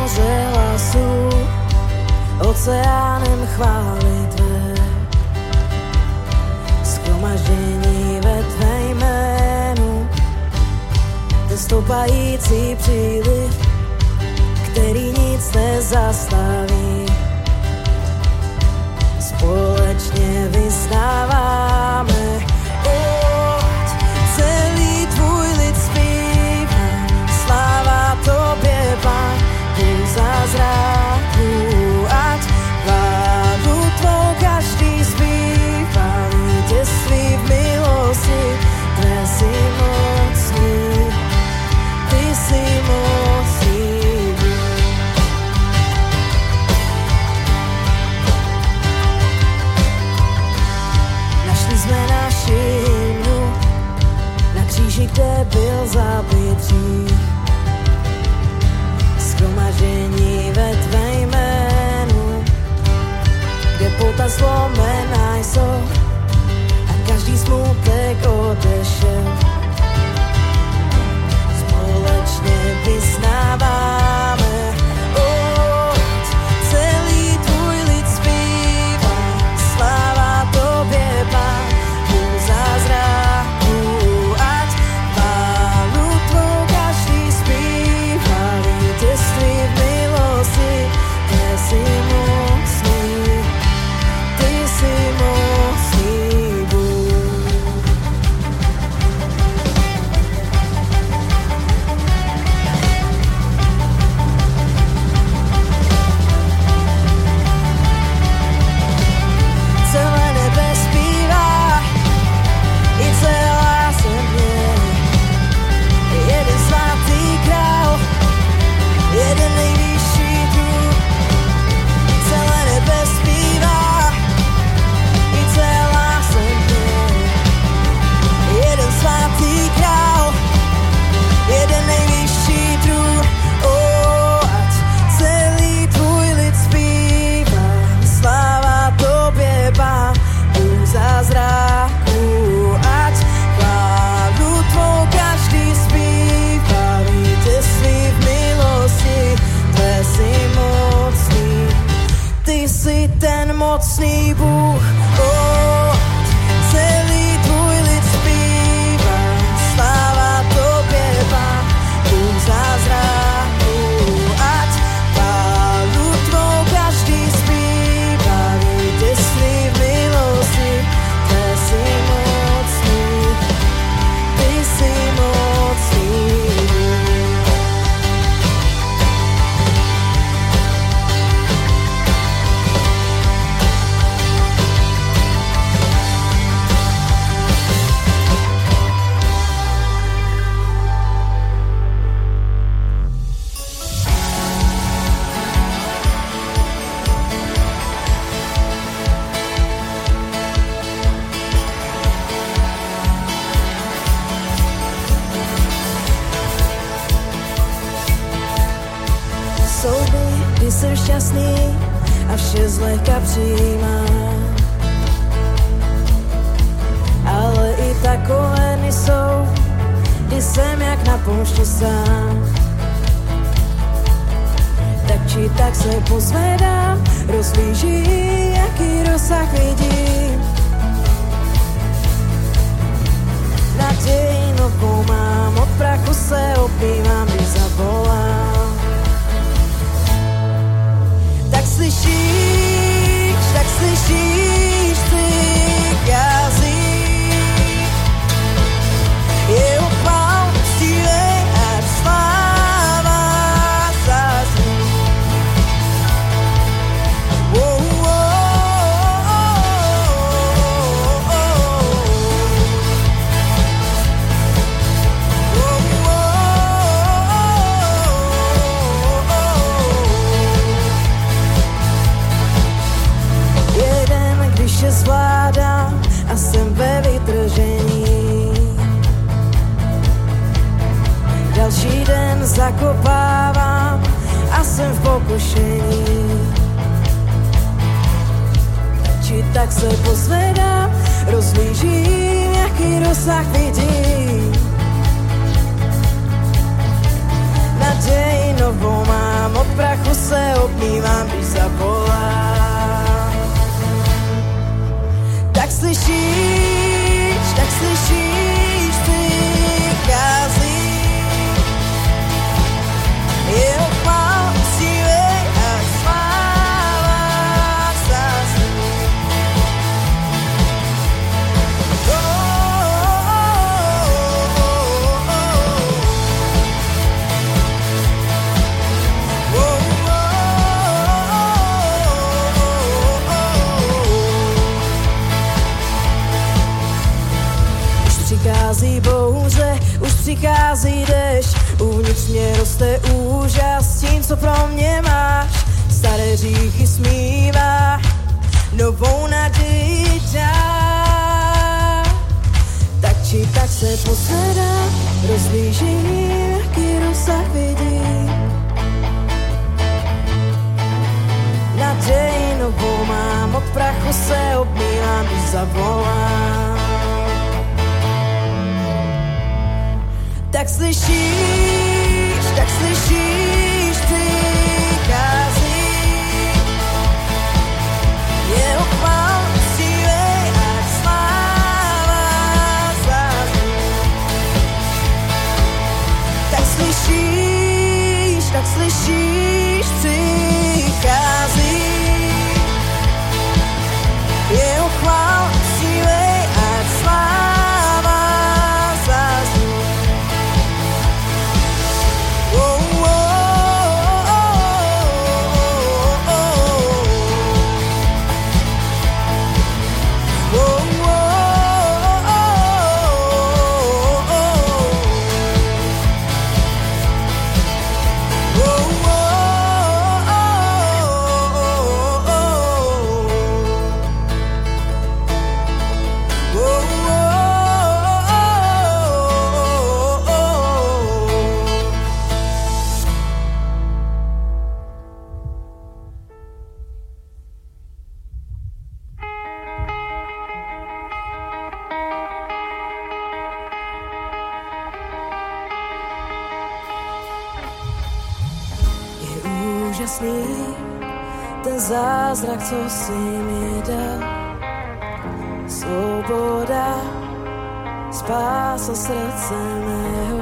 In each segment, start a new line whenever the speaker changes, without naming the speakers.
moře hlasů, oceánem chvály tvé. Shromaždění ve tvé jménu, ten stoupající příliv, který nic nezastaví. Společně vyznáváme, celý tvůj lid zpívá, sláva tobě, Pán, tu zázraku, ať chválu tvou každý zpívá, vítězství v milosti, tvé jsi mocný, ty jsi mocný. Našli jsme naši hymnu na kříži, kde byl zabit hřích. Shromaždění ve tvé jménu, kde pouta zlomená jsou a každý smutek odešel. Společně vyznáváme, celý tvůj lid zpívá, sláva tobě, Pán, tu zázraku, ať chválu tvou každý zpívá, vítězství v milosti, ty jsi mocný, ty jsi mocný Bůh. Celé nebe zpívá, i celá země, jeden svatý král, jeden nejvyšší druh. Celé nebe zpívá, i celá země, jeden svatý král, jeden nejvyšší druh. Ať celý tvůj lid zpívá, sláva tobě, Pán, tu zázraku, ať chválu tvou každý zpívá, vítězství v milosti, tvé jsi mocný, ty jsi ten mocný Bůh. Celý tvůj lid zpívá, sláva tobě, Pán, tu zázraku, ať chválu tvou každý zpívá, vítězství v milosti, tvé jsi mocný, ty jsi mocný Bůh. Jsou dny, kdy jsem šťastný a vše zlehka přijímám, ale i takové dny jsou, kdy jsem jak na poušti sám. Tak či tak se pozvedám, rozhlížím, jaký rozsah vidím. Naději novou mám, od prachu se opívám, když zavolám. Tak slyšíš ty jazyk, jeho chvál stívej, ať sláva zazní. Vše zvládám a jsem ve vytržení. Další den zakopávám a jsem v pokušení. Či tak se pozvedám, rozhlížím, jaký rozsah vidím. Naději novou mám, od prachu slyšíš, přichází. Jeho chvála uctívej a sláva zazní. Přichází bouře, už přichází dešť, uvnitř mě roste úžas tím, co pro mě máš. Staré hříchy smívá, novou naději dá. Tak či tak se pozvedám, rozhlížím, jaký rozsah vidím. Naději novou mám, od prachu se obmývám, když zavolám. Tak slyšíš, přichází. Jeho chvála uctívej a sláva zazní. Tak slyšíš, přichází. Jeho chvála uctívej a sláva zazní. Ten zázrak, co si mi dal, svoboda, spása srdce mého.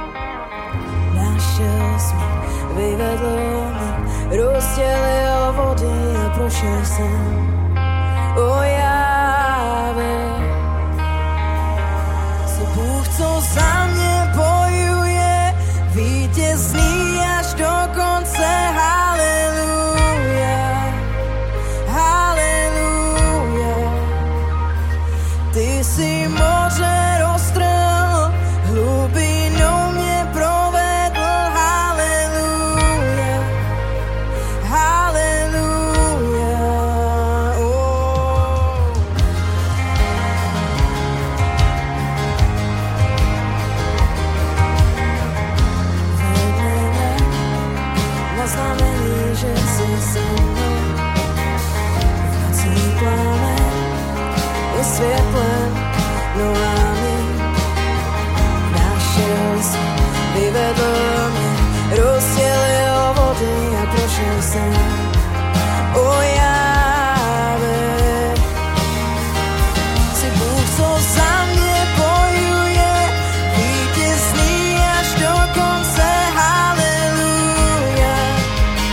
Našel jsi mě, vyvedl mě, rozdělil vody a prošel jsem. O Jáve, jsi Bůh, co za mě bojuje, vítězný až do konce. Ty jsi moře roztrhl, hlubinou mě provedl, haleluja, haleluja, oh. Vedle mě na znamení, že jsi se mnou, v nocí plamen je světlem nohami. Našel jsi, vyvedl mě, rozdělil vody a prošel jsem. O Jáve, jsi Bůh, co za mě bojuje, vítězný až do konce, haleluja,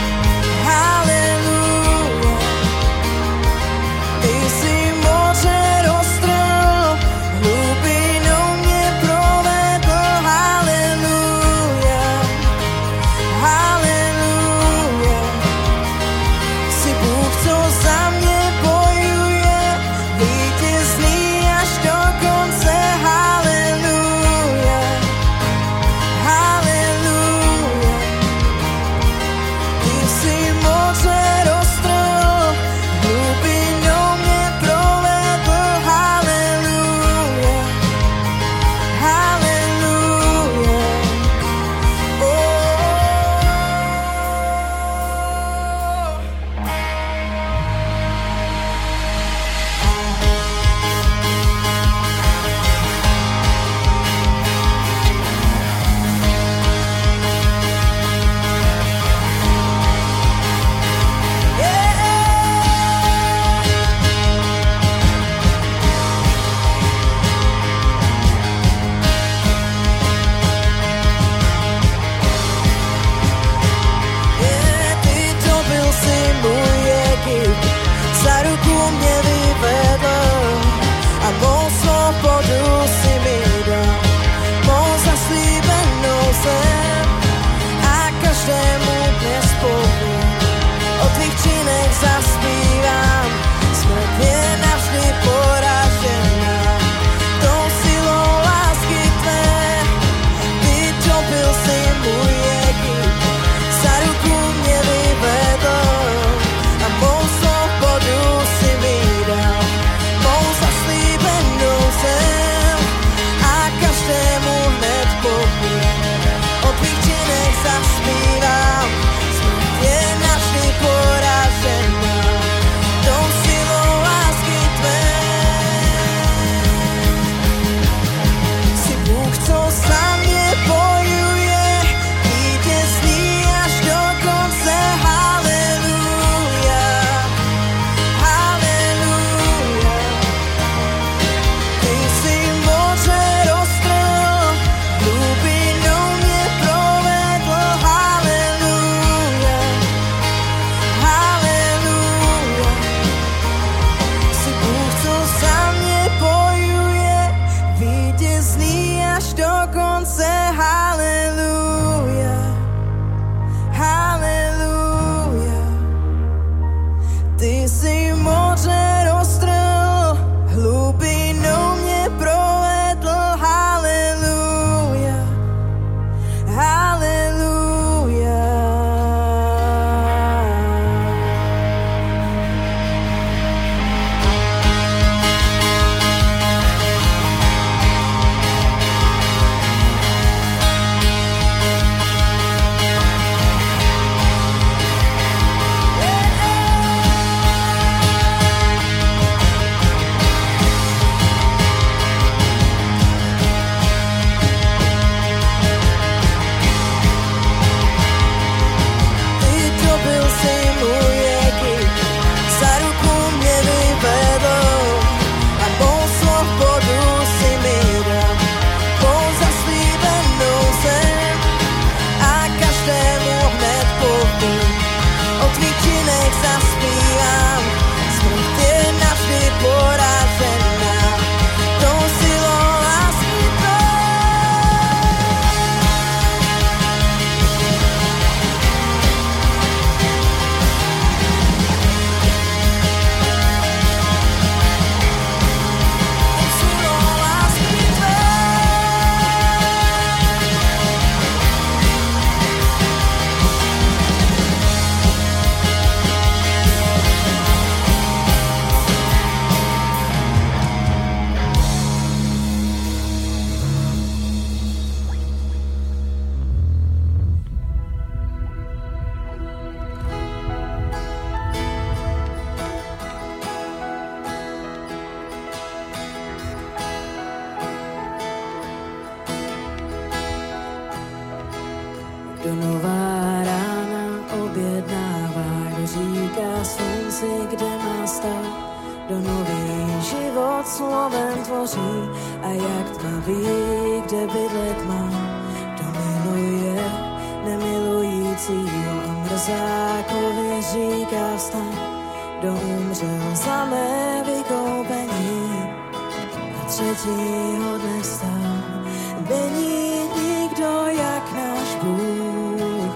tvoří a jak tma ví, kde bydlet má. Kdo miluje nemilujícího a mrzákovi říká vstaň. Kdo umřel za mé vykoupení a třetího dne vstal. Není nikdo jak náš Bůh,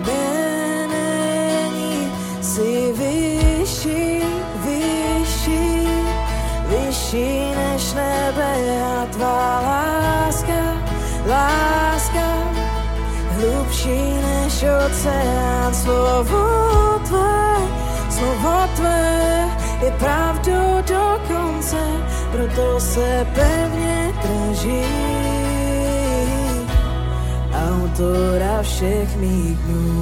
není, jsi vyšší, vyšší, vyšší než nebe a tvá láska, láska, hlubší než oceán. Slovo tvé je pravdou do konce, proto se pevně drží autora všech mých dnů.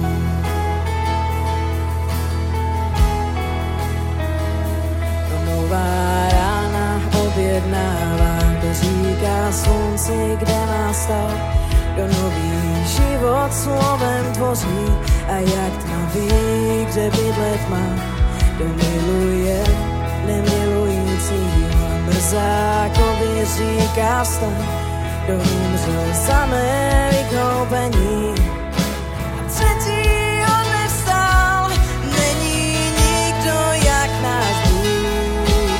Nová rána objednává, kdo říká slunci, kde má stát. Kdo nový život slovem tvoří a jak tma ví, kde bydlet má. Kdo miluje nemilujícího a mrzákovi říká vstaň. Kdo umřel za mé vykoupení a třetího dne vstal. Není nikdo jak náš Bůh,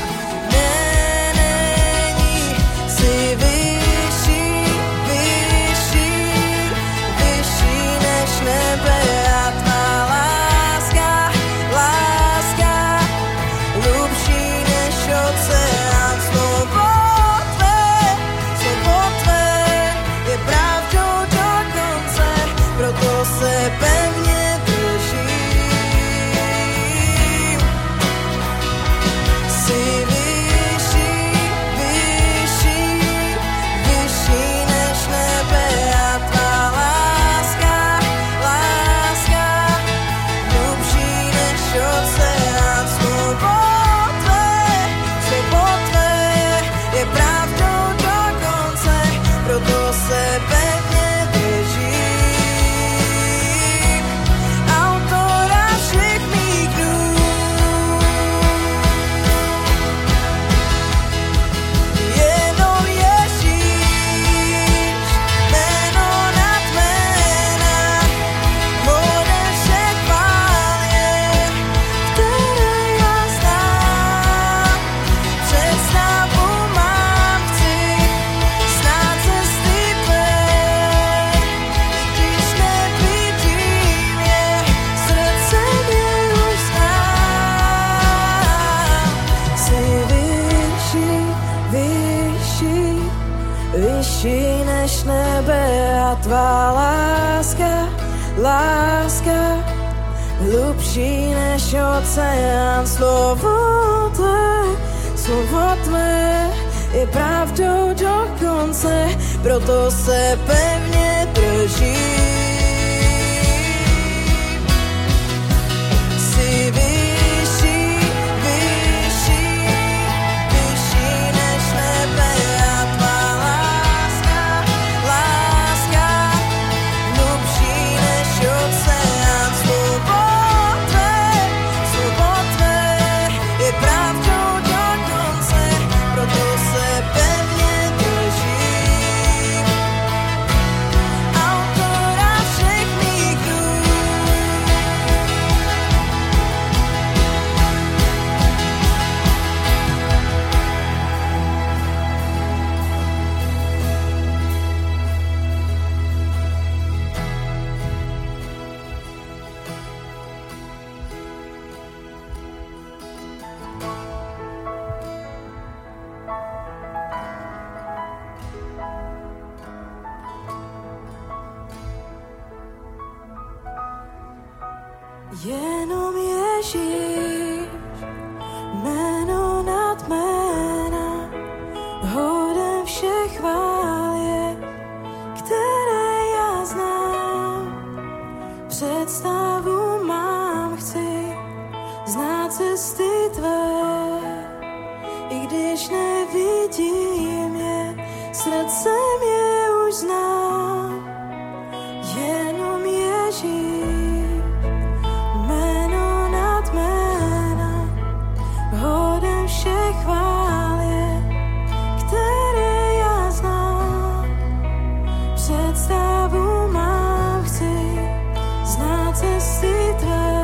není, jsi vyšší, vyšší, vyšší než nebe a tvá láska, láska, hlubší než oceán. Proto se pevně držím. Jsi vyšší, vyšší, vyšší než nebe a tvá láska, láska, hlubší než oceán. Slovo tvé je pravdou do konce, proto se pevně držím. Vyšší než nebe a tvá láska, láska, hlubší než oceán. Slovo tvé je pravdou do konce, proto se pevně držím. Jsi vyšší, vyšší, vyšší než nebe a tvá oceán. Slovo tvé je pravdou do konce, proto se pevně držím autora všech mých dnů. Jenom Ježíš, jméno nad jména, hodem všech chvál je, které já znám. Představu mám, chci znát cesty tvé, i když nevidím je, srdcem je už znám. Jenom Ježíš, všech chvál je, cesty tvé,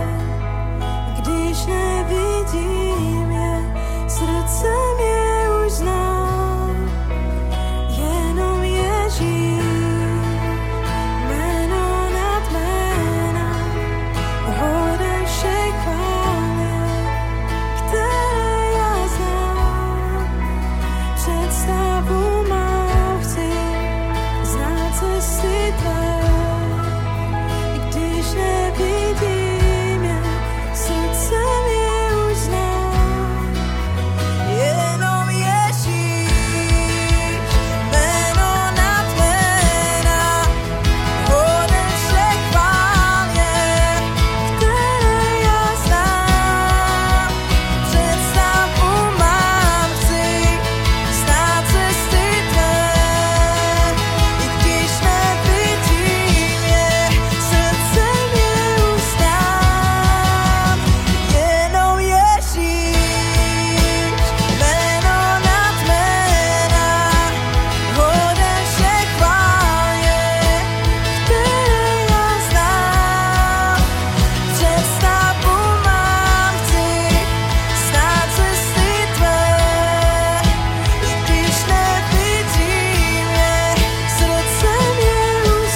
když nevidím je, srdcem je už znám, jenom Ježíš, jméno nad jména, hoden všech chvály, které já znám. Představu mám, chci znát cesty tvé, i když nevidím je, srdcem je už znám, jenom Ježíš, jméno nad jména, hoden všech chvál je, které já znám. Představu mám, chci znát cesty tvé, i když nevidím je, srdcem je už znám, jenom Ježíš, jméno nad jména, hoden všech chvál je, které já znám. Představu mám, chci znát cesty tvé, i když nevidím je, srdcem je už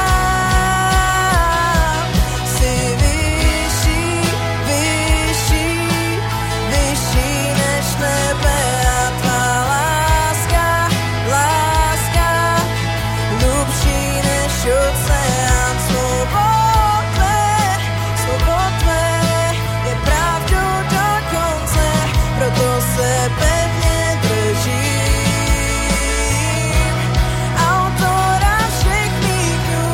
znám. Jsi vyšší, vyšší, vyšší než nebe a tvá láska, láska, hlubší než oceán. Slovo tvé je pravdou do konce, proto se pevně držím autora všech mých dnů.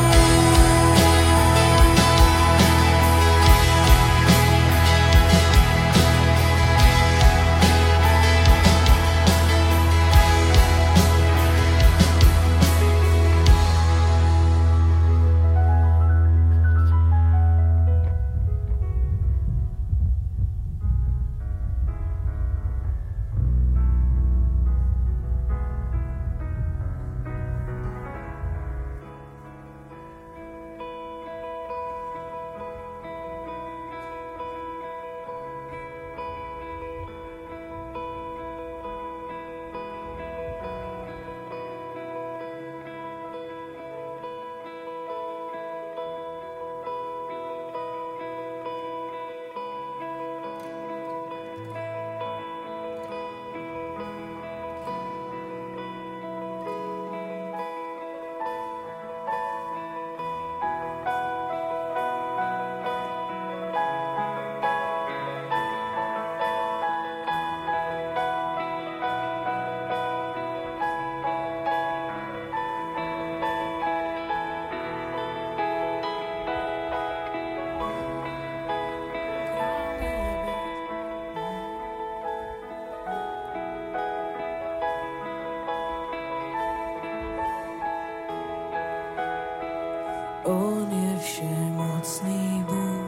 On je všemocný Bůh,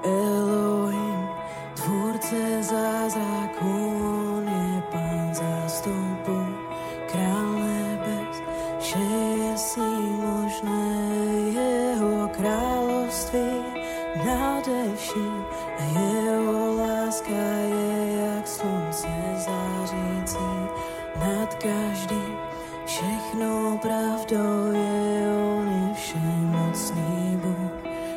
Elohim, tvůrce zázraků, on je Pán zástupů, král nebes, vše je s ním možné, jeho království nade vším a jeho láska je jak slunce zářící nad každým, všechno pravdou je, on je všemocný Bůh,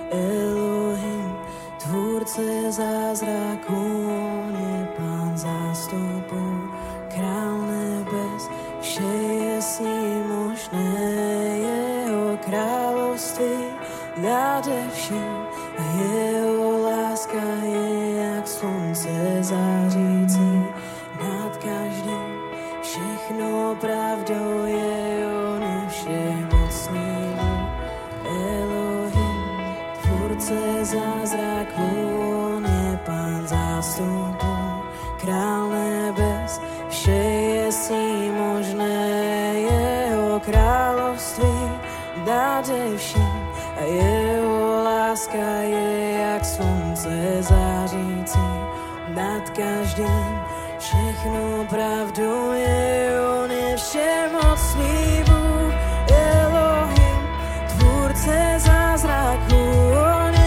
Elohim, tvůrce zázraků, on je Pán zástupů, král nebes, vše je s ním možné, jeho království nade vším a jeho láska je jak slunce zářící nad každým, všechno pravdou je, on je všemocný Bůh, Elohim, tvůrce zázraků, on je Pán zástupů, král nebes, vše je s ním možné, jeho království nade vším a jeho láska je jak slunce zářící nad každým, všechno pravdou je, on je všemocný Bůh, Elohim, tvůrce zázraků, on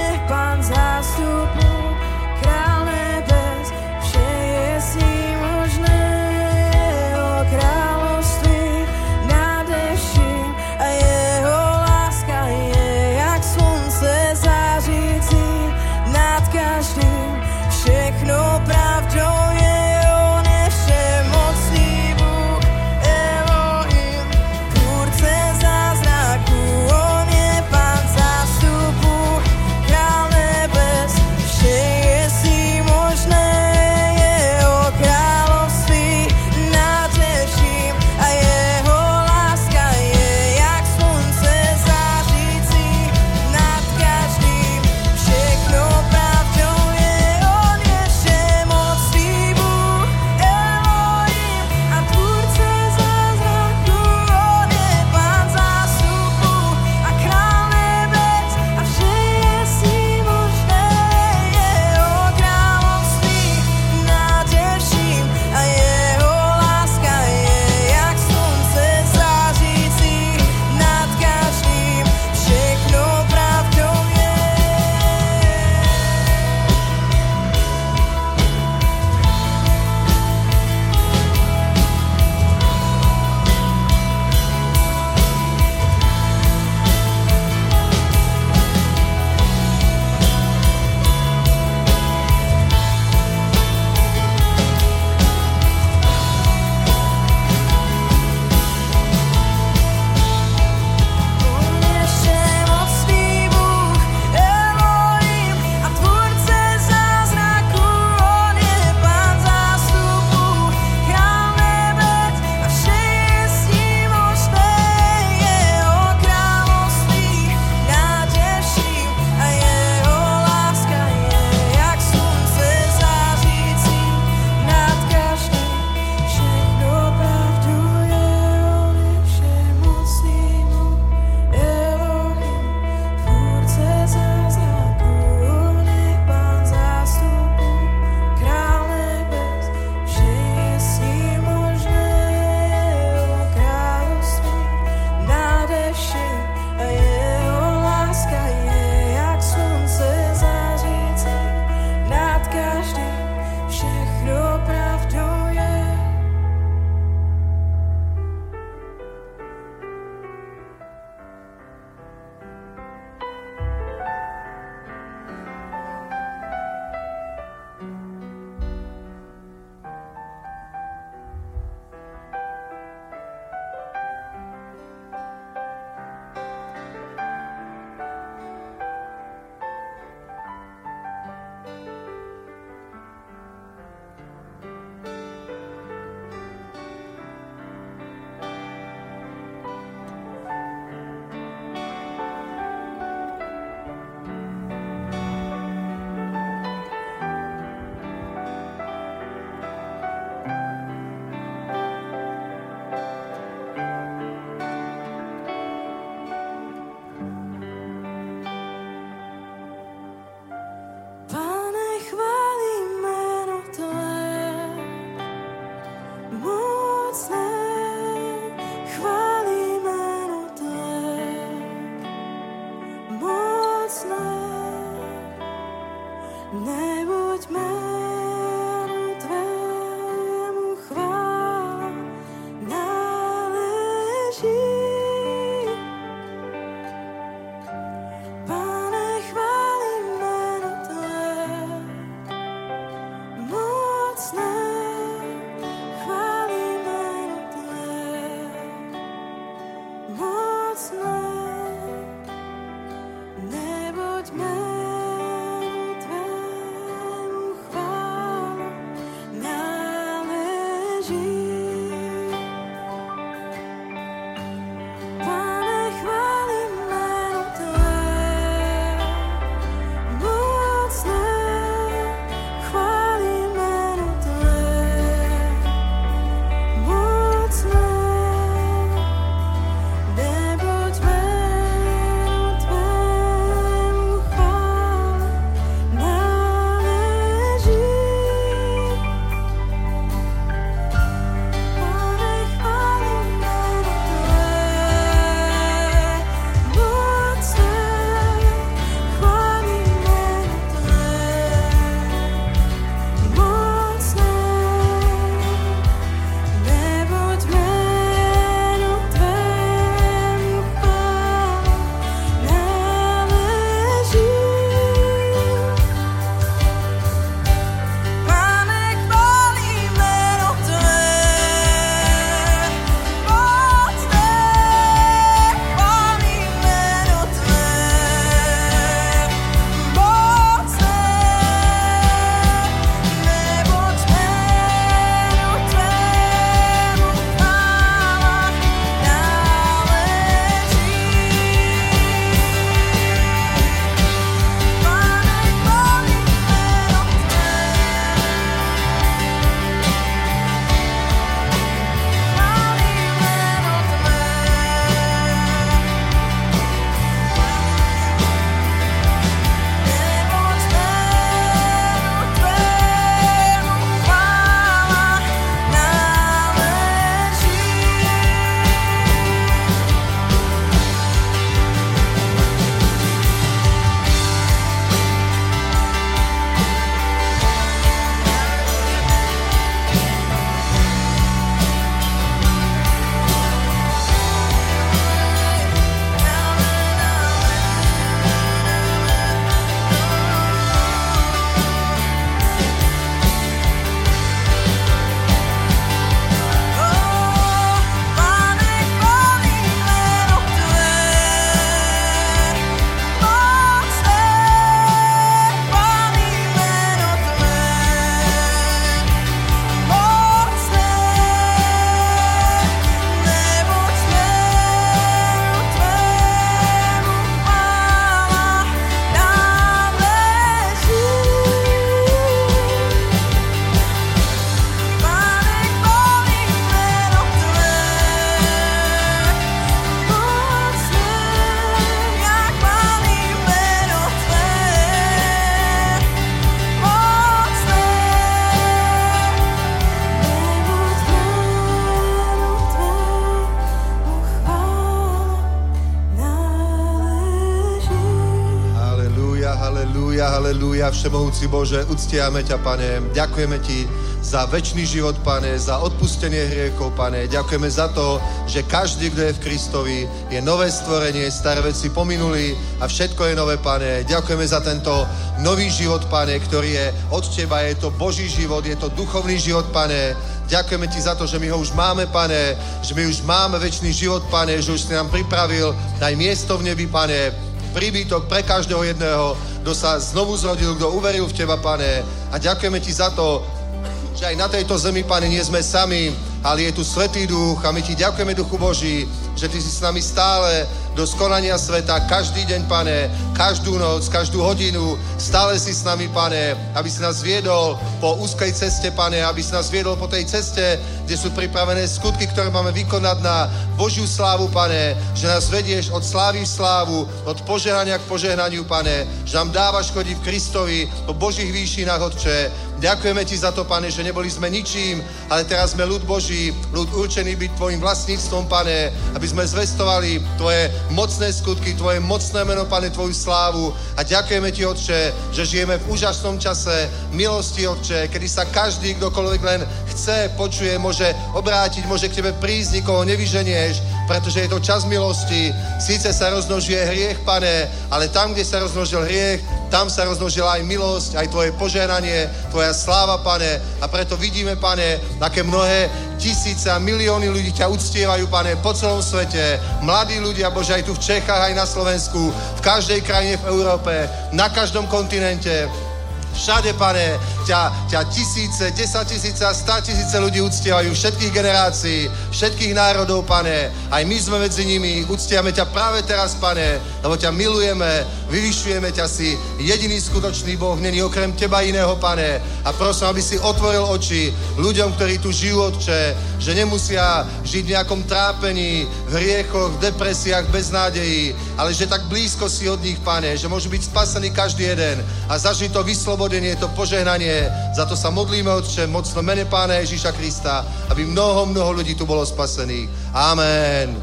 Halelúja, halelúja, všemohúci Bože, uctiame ťa, Pane. Ďakujeme ti za večný život, Pane, za odpustenie hriechov, Pane. Ďakujeme za to, že každý, kto je v Kristovi, je nové stvorenie, staré veci pominuli a všetko je nové, Pane. Ďakujeme za tento nový život, Pane, ktorý je od teba, je to Boží život, je to duchovný život, Pane. Ďakujeme ti za to, že my ho už máme, Pane, že my už máme večný život, Pane, že už si nám pripravil aj miesto v nebi, Pane, príbytok pre každého jedného, kto sa znovu zrodil, kto uveril v teba, Pane. A ďakujeme ti za to, že aj na tejto zemi, Pane, nie sme sami, ale je tu Svätý Duch a my ti ďakujeme, Duchu Boží, že ty si s nami stále do skonania sveta, každý deň, Pane, každú noc, každú hodinu, stále si s nami, Pane, aby si nás viedol po úzkej ceste, Pane, aby si nás viedol po tej ceste, kde sú pripravené skutky, ktoré máme vykonať na Božiu slávu, Pane, že nás vedieš od slávy v slávu, od požehnania k požehnaniu, Pane, že nám dávaš chodiť v Kristovi po Božích výšinách, Otče. Ďakujeme ti za to, Pane, že neboli sme ničím, ale teraz sme ľud Boží, ľud určený byť tvojim vlastníctvom, Pane, aby sme zvestovali tvoje mocné skutky, tvoje mocné meno, Pane, tvoju slávu. A ďakujeme ti, Otče, že žijeme v úžasnom čase milosti, Otče, kedy sa každý, kdokoľvek len chce, počuje, môže obrátiť, môže k tebe prísť, nikoho nevyženieš, pretože je to čas milosti. Síce sa rozmnožuje hriech, Pane, ale tam, kde sa rozmnožil hriech, tam sa rozmnožila aj milosť, aj tvoje požehnanie, tvoja sláva, Pane. A preto vidíme, Pane, aké mnohé tisíce a milióny ľudí ťa uctievajú, Pane, po celom svete. Mladí ľudia, Bože, aj tu v Čechách, aj na Slovensku, v každej krajine v Európe, na každom kontinente. Všade, Pane, ťa tisíce, 10 tisíce a 100 tisíce ľudí uctievajú, všetkých generácií, všetkých národov, Pane. Aj my sme medzi nimi, uctiame ťa práve teraz, Pane, lebo ťa milujeme, vyvyšujeme ťa, si jediný skutočný Boh, není okrem teba iného, Pane. A prosím, aby si otvoril oči ľuďom, ktorí tu žijú, Otče, že nemusia žiť v nejakom trápení, v hriechoch, v depresiách, bez nádejí, ale že tak blízko si od nich, Pane, že môžu byť spasení každý jeden a zažiť to vyslobodenie, to požehnanie. Za to sa modlíme, Otče, mocno mene Pána Ježíša Krista, aby mnoho ľudí tu bolo spasených. Amen.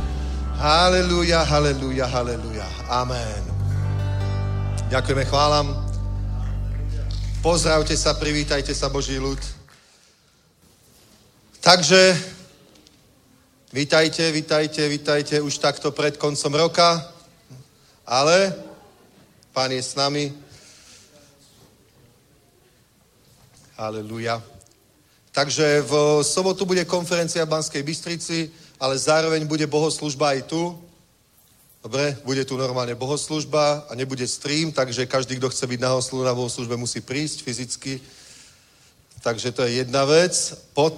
Halelúja, halelúja, halelúja. Amen. Ďakujeme, chválam. Pozdravte sa, privítajte sa, Boží ľud. Takže, vítajte už takto pred koncom roka, ale Pán je s nami. Halelúja. Takže v sobotu bude konferencia v Banskej Bystrici, ale zároveň bude bohoslužba aj tu. Dobre, bude tu normálne bohoslužba a nebude stream, takže každý, kto chce byť na bohoslužbe, musí prísť fyzicky. Takže to je jedna vec.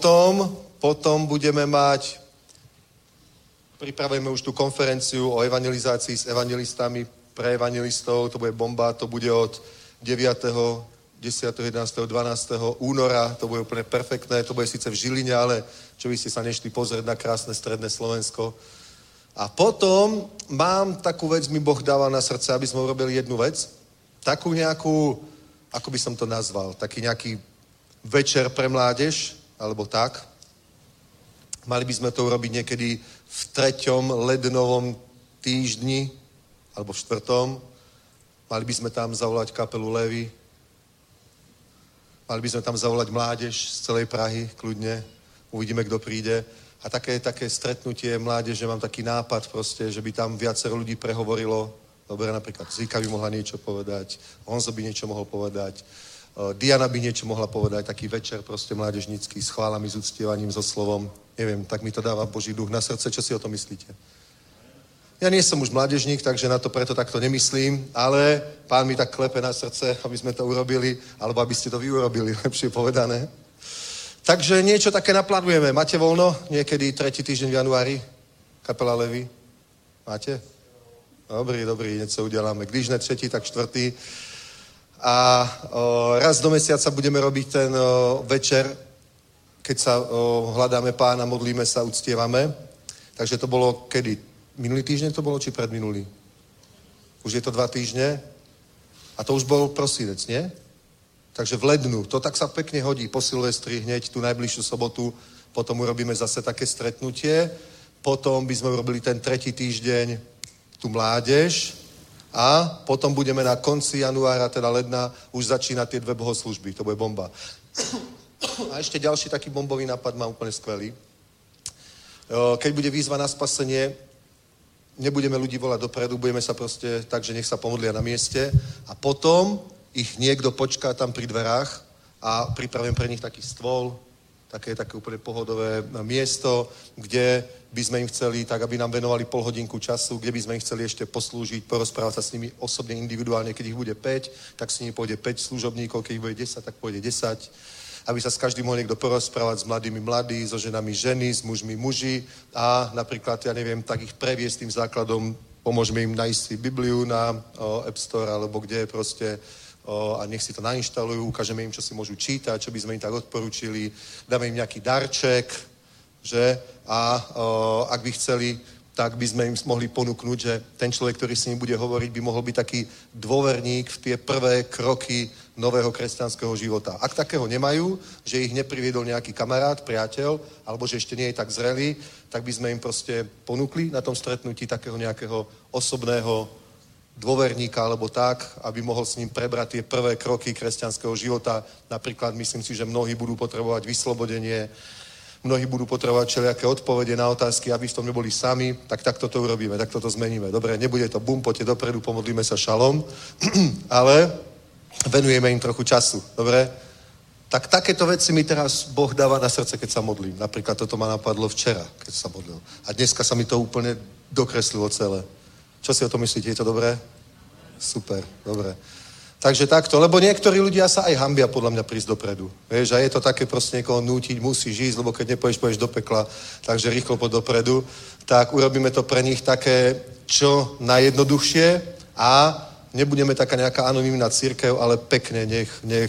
Potom budeme mať, pripravujeme už tú konferenciu o evangelizácii s evangelistami pre evangelistov, to bude bomba, to bude od 9., 10., 11., 12. února, to bude úplne perfektné, to bude síce v Žiline, ale čo by ste sa nešli pozrieť na krásne stredné Slovensko. A potom mám takú vec, mi Boh dával na srdce, aby sme urobili jednu vec, takú nejakú, ako by som to nazval, taký nejaký večer pre mládež, alebo tak. Mali by sme to urobiť niekedy v 3. lednovom týždni, alebo v 4. Mali by sme tam zavolať kapelu Lévy. Mali by sme tam zavolať mládež z celej Prahy, kľudne. Uvidíme, kto príde. A také stretnutie mládeže, mám taký nápad proste, že by tam viacero ľudí prehovorilo. Dobre, napríklad Zika by mohla niečo povedať, Honzo by niečo mohol povedať, Diana by niečo mohla povedať, taký večer proste mládežnícky s chválami, s uctievaním, so slovom. Neviem, tak mi to dáva Boží duch na srdce. Čo si o to myslíte? Ja nie som už mládežník, takže na to preto takto nemyslím, ale Pán mi tak klepe na srdce, aby sme to urobili, alebo aby ste to vy urobili, lepšie povedané. Takže niečo také naplánujeme. Máte voľno? Niekedy 3. týždeň v januári? Kapela Lévy? Máte? Dobrý, niečo udeláme. Když ne 3., tak 4. A raz do mesiaca budeme robiť ten večer, keď sa hľadáme Pána, modlíme sa, uctievame. Takže to bolo kedy? Minulý týždeň to bolo, či predminulý? Už je to 2 týždne? A to už bol prosinec, nie? Takže v lednu. To tak sa pekne hodí po Silvestri, hneď tú najbližšiu sobotu. Potom urobíme zase také stretnutie. Potom by sme urobili ten 3. týždeň tú mládež. A potom budeme na konci januára, teda ledna, už začínať tie 2 bohoslužby. To bude bomba. A ešte ďalší taký bombový nápad mám úplne skvelý. Keď bude výzva na spasenie, nebudeme ľudí volať dopredu, budeme sa proste tak, že nech sa pomodlia na mieste a potom ich niekto počká tam pri dverách a pripravím pre nich taký stôl, také úplne pohodové miesto, kde by sme im chceli, tak aby nám venovali pol hodinku času, kde by sme im chceli ešte poslúžiť, porozprávať sa s nimi osobne, individuálne, keď ich bude 5, tak s nimi pôjde 5 služobníkov, keď ich bude 10, tak pôjde 10, aby sa s každým mohol niekto porozprávať, s mladými mladí, so ženami ženy, s mužmi muži a napríklad, ja neviem, tak ich previesť tým základom, pomôžeme im nájsť si Bibliu na App Store, alebo kde proste a nech si to nainštalujú, ukážeme im, čo si môžu čítať, čo by sme im tak odporučili, dáme im nejaký darček, že? A ak by chceli, tak by sme im mohli ponúknuť, že ten človek, ktorý s ním bude hovoriť, by mohol byť taký dôverník v tie prvé kroky nového kresťanského života. Ak takého nemajú, že ich nepriviedol nejaký kamarát, priateľ, alebo že ešte nie je tak zrelý, tak by sme im proste ponúkli na tom stretnutí takého nejakého osobného dôverníka alebo tak, aby mohol s ním prebrať tie prvé kroky kresťanského života. Napríklad myslím si, že mnohí budú potrebovať vyslobodenie, mnohí budú potrebovať všelijaké odpovede na otázky, aby v tom neboli sami, tak takto to urobíme, takto to zmeníme. Dobre, nebude to bum, poďte dopredu, pomodlíme sa šalom, ale venujeme im trochu času, dobre? Tak takéto veci mi teraz Boh dáva na srdce, keď sa modlím. Napríklad toto ma napadlo včera, keď sa modlil. A dneska sa mi to úplne dokreslilo celé. Čo si o tom myslíte? Je to dobré? Super, dobre. Takže takto, lebo niektorí ľudia sa aj hanbia podľa mňa prísť dopredu. Vieš, a je to také proste niekoho nútiť, musíš ísť, lebo keď nepôjdeš do pekla, takže rýchlo poď dopredu. Tak urobíme to pre nich také, čo najjednoduchšie a nebudeme taká nejaká anonymná cirkev, ale pekne nech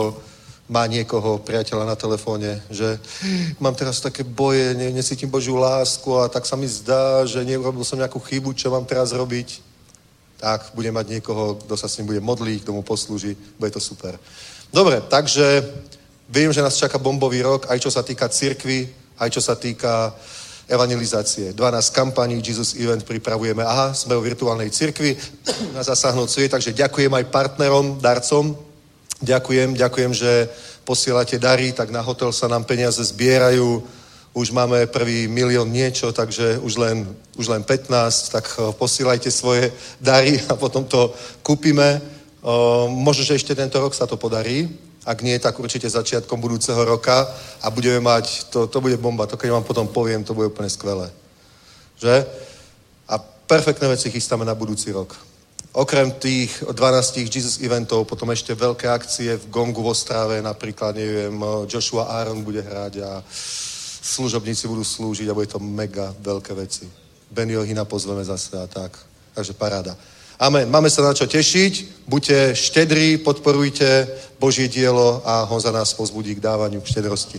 má niekoho, priateľa na telefóne, že mám teraz také boje, necítim Božiu lásku a tak sa mi zdá, že neurobil som nejakú chybu, čo mám teraz robiť. Tak bude mať niekoho, kto sa s ním bude modliť, kto mu poslúži, bude to super. Dobre, takže viem, že nás čaká bombový rok, aj čo sa týka cirkvi, aj čo sa týka evangelizácie. 12 kampaní, Jesus Event pripravujeme. Aha, sme v virtuálnej cirkvi na Zasáhnuť sviet, takže ďakujem aj partnerom, darcom. Ďakujem, že posielate dary, tak na hotel sa nám peniaze zbierajú. Už máme prvý 1 000 000 niečo, takže už len 15, tak posielajte svoje dary a potom to kúpime. Možno, že ešte tento rok sa to podarí. Ak nie, tak určite začiatkom budúceho roka a budeme mať, to bude bomba, to keď vám potom poviem, to bude úplne skvelé. Že? A perfektné veci chystáme na budúci rok. Okrem tých 12 Jesus eventov, potom ešte veľké akcie v Gongu v Ostrave, napríklad, neviem, Joshua Aaron bude hrať a služobníci budú slúžiť a bude to mega veľké veci. Benny Ohina pozveme zase a tak. Takže paráda. Amen. Máme sa na čo tešiť. Buďte štedrí, podporujte Božie dielo a ho za nás povzbudí k dávaniu, k štedrosti.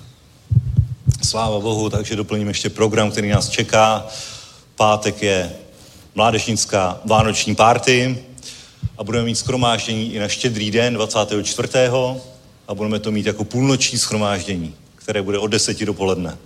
Sláva Bohu, takže doplním ještě program, který nás čeká. Pátek je mládežnická vánoční party a budeme mít shromáždění i na Štědrý den 24. a budeme to mít jako půlnoční shromáždění, které bude od 10 dopoledne.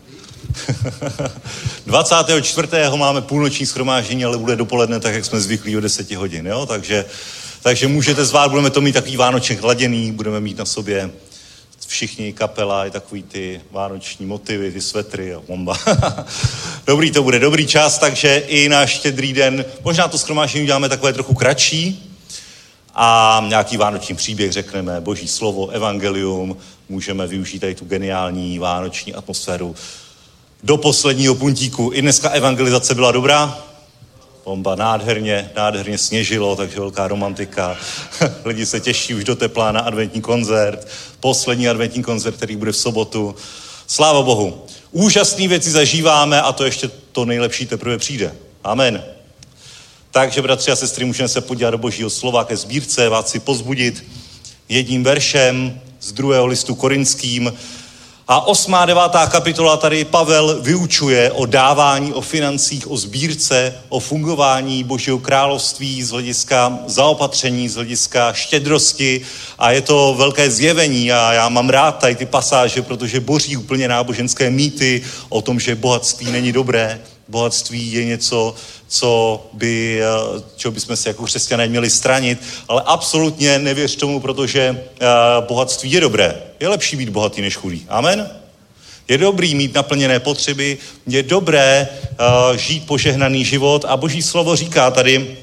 24. máme půlnoční shromáždění, ale bude dopoledne tak, jak jsme zvyklí o 10 hodin, jo? Takže můžete zvát, budeme to mít takový vánoček hladěný, budeme mít na sobě všichni kapela, i takový ty vánoční motivy, ty svetry a bomba. Dobrý to bude, dobrý čas, takže i na Štědrý den, možná to shromáždění uděláme takové trochu kratší a nějaký vánoční příběh řekneme, Boží slovo, evangelium, můžeme využít tady tu geniální vánoční atmosféru do posledního puntíku. I dneska evangelizace byla dobrá, bomba, nádherně sněžilo, takže velká romantika. Lidi se těší už do tepla na adventní koncert. Poslední adventní koncert, který bude v sobotu. Sláva Bohu. Úžasné věci zažíváme a to ještě to nejlepší teprve přijde. Amen. Takže, bratři a sestry, můžeme se podívat do Božího slova ke sbírce, vás si pozbudit jedním veršem z 2. listu Korinským. A 8. a 9. kapitola tady Pavel vyučuje o dávání, o financích, o sbírce, o fungování Božího království z hlediska zaopatření, z hlediska štědrosti a je to velké zjevení a já mám rád tady ty pasáže, protože boří úplně náboženské mýty o tom, že bohatství není dobré. Bohatství je něco, čeho bychom se jako křesťané měli stranit, ale absolutně nevěř tomu, protože bohatství je dobré. Je lepší být bohatý než chudý. Amen? Je dobrý mít naplněné potřeby, je dobré žít požehnaný život a Boží slovo říká tady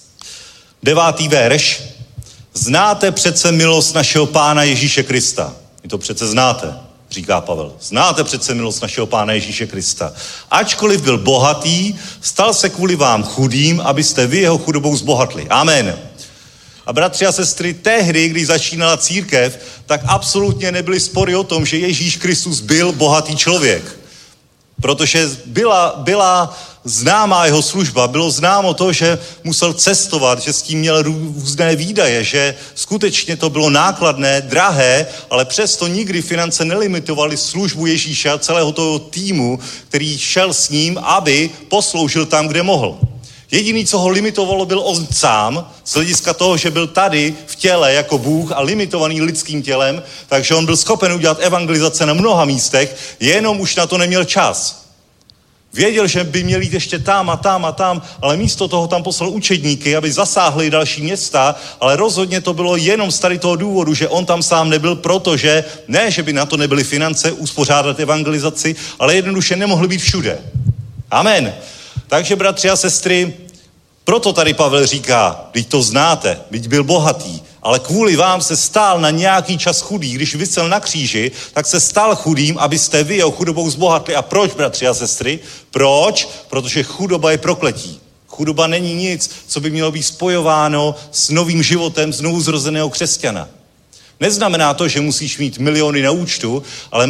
9. verš. Znáte přece milost našeho Pána Ježíše Krista. Vy to přece znáte, říká Pavel. Znáte přece milost našeho Pána Ježíše Krista. Ačkoliv byl bohatý, stal se kvůli vám chudým, abyste vy jeho chudobou zbohatli. Amen. A bratři a sestry, tehdy, když začínala církev, tak absolutně nebyly spory o tom, že Ježíš Kristus byl bohatý člověk. Protože byla známá jeho služba, bylo známo to, že musel cestovat, že s tím měl různé výdaje, že skutečně to bylo nákladné, drahé, ale přesto nikdy finance nelimitovaly službu Ježíše a celého toho týmu, který šel s ním, aby posloužil tam, kde mohl. Jediný, co ho limitovalo, byl on sám, z hlediska toho, že byl tady v těle jako Bůh a limitovaný lidským tělem, takže on byl schopen udělat evangelizace na mnoha místech, jenom už na to neměl čas. Věděl, že by měl jít ještě tam a tam a tam, ale místo toho tam poslal učedníky, aby zasáhli další města, ale rozhodně to bylo jenom z tady toho důvodu, že on tam sám nebyl, protože ne, že by na to nebyly finance uspořádat evangelizaci, ale jednoduše nemohli být všude. Amen. Takže, bratři a sestry, proto tady Pavel říká, vždyť to znáte, vždyť byl bohatý, ale kvůli vám se stál na nějaký čas chudý. Když visel na kříži, tak se stal chudým, abyste vy jeho chudobou zbohatli. A proč, bratři a sestry? Proč? Protože chudoba je prokletí. Chudoba není nic, co by mělo být spojováno s novým životem znovu zrozeného křesťana. Neznamená to, že musíš mít miliony na účtu, ale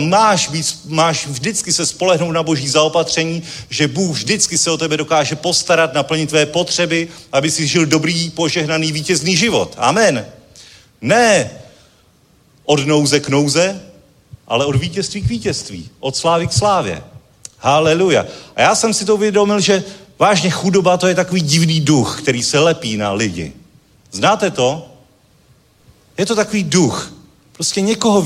máš vždycky se spolehnout na Boží zaopatření, že Bůh vždycky se o tebe dokáže postarat, naplnit tvé potřeby, aby si žil dobrý, požehnaný, vítězný život. Amen. Ne od nouze k nouze, ale od vítězství k vítězství, od slávy k slávě. Haleluja. A já jsem si to uvědomil, že vážně chudoba to je takový divný duch, který se lepí na lidi. Znáte to? Je to takový duch. Prostě někoho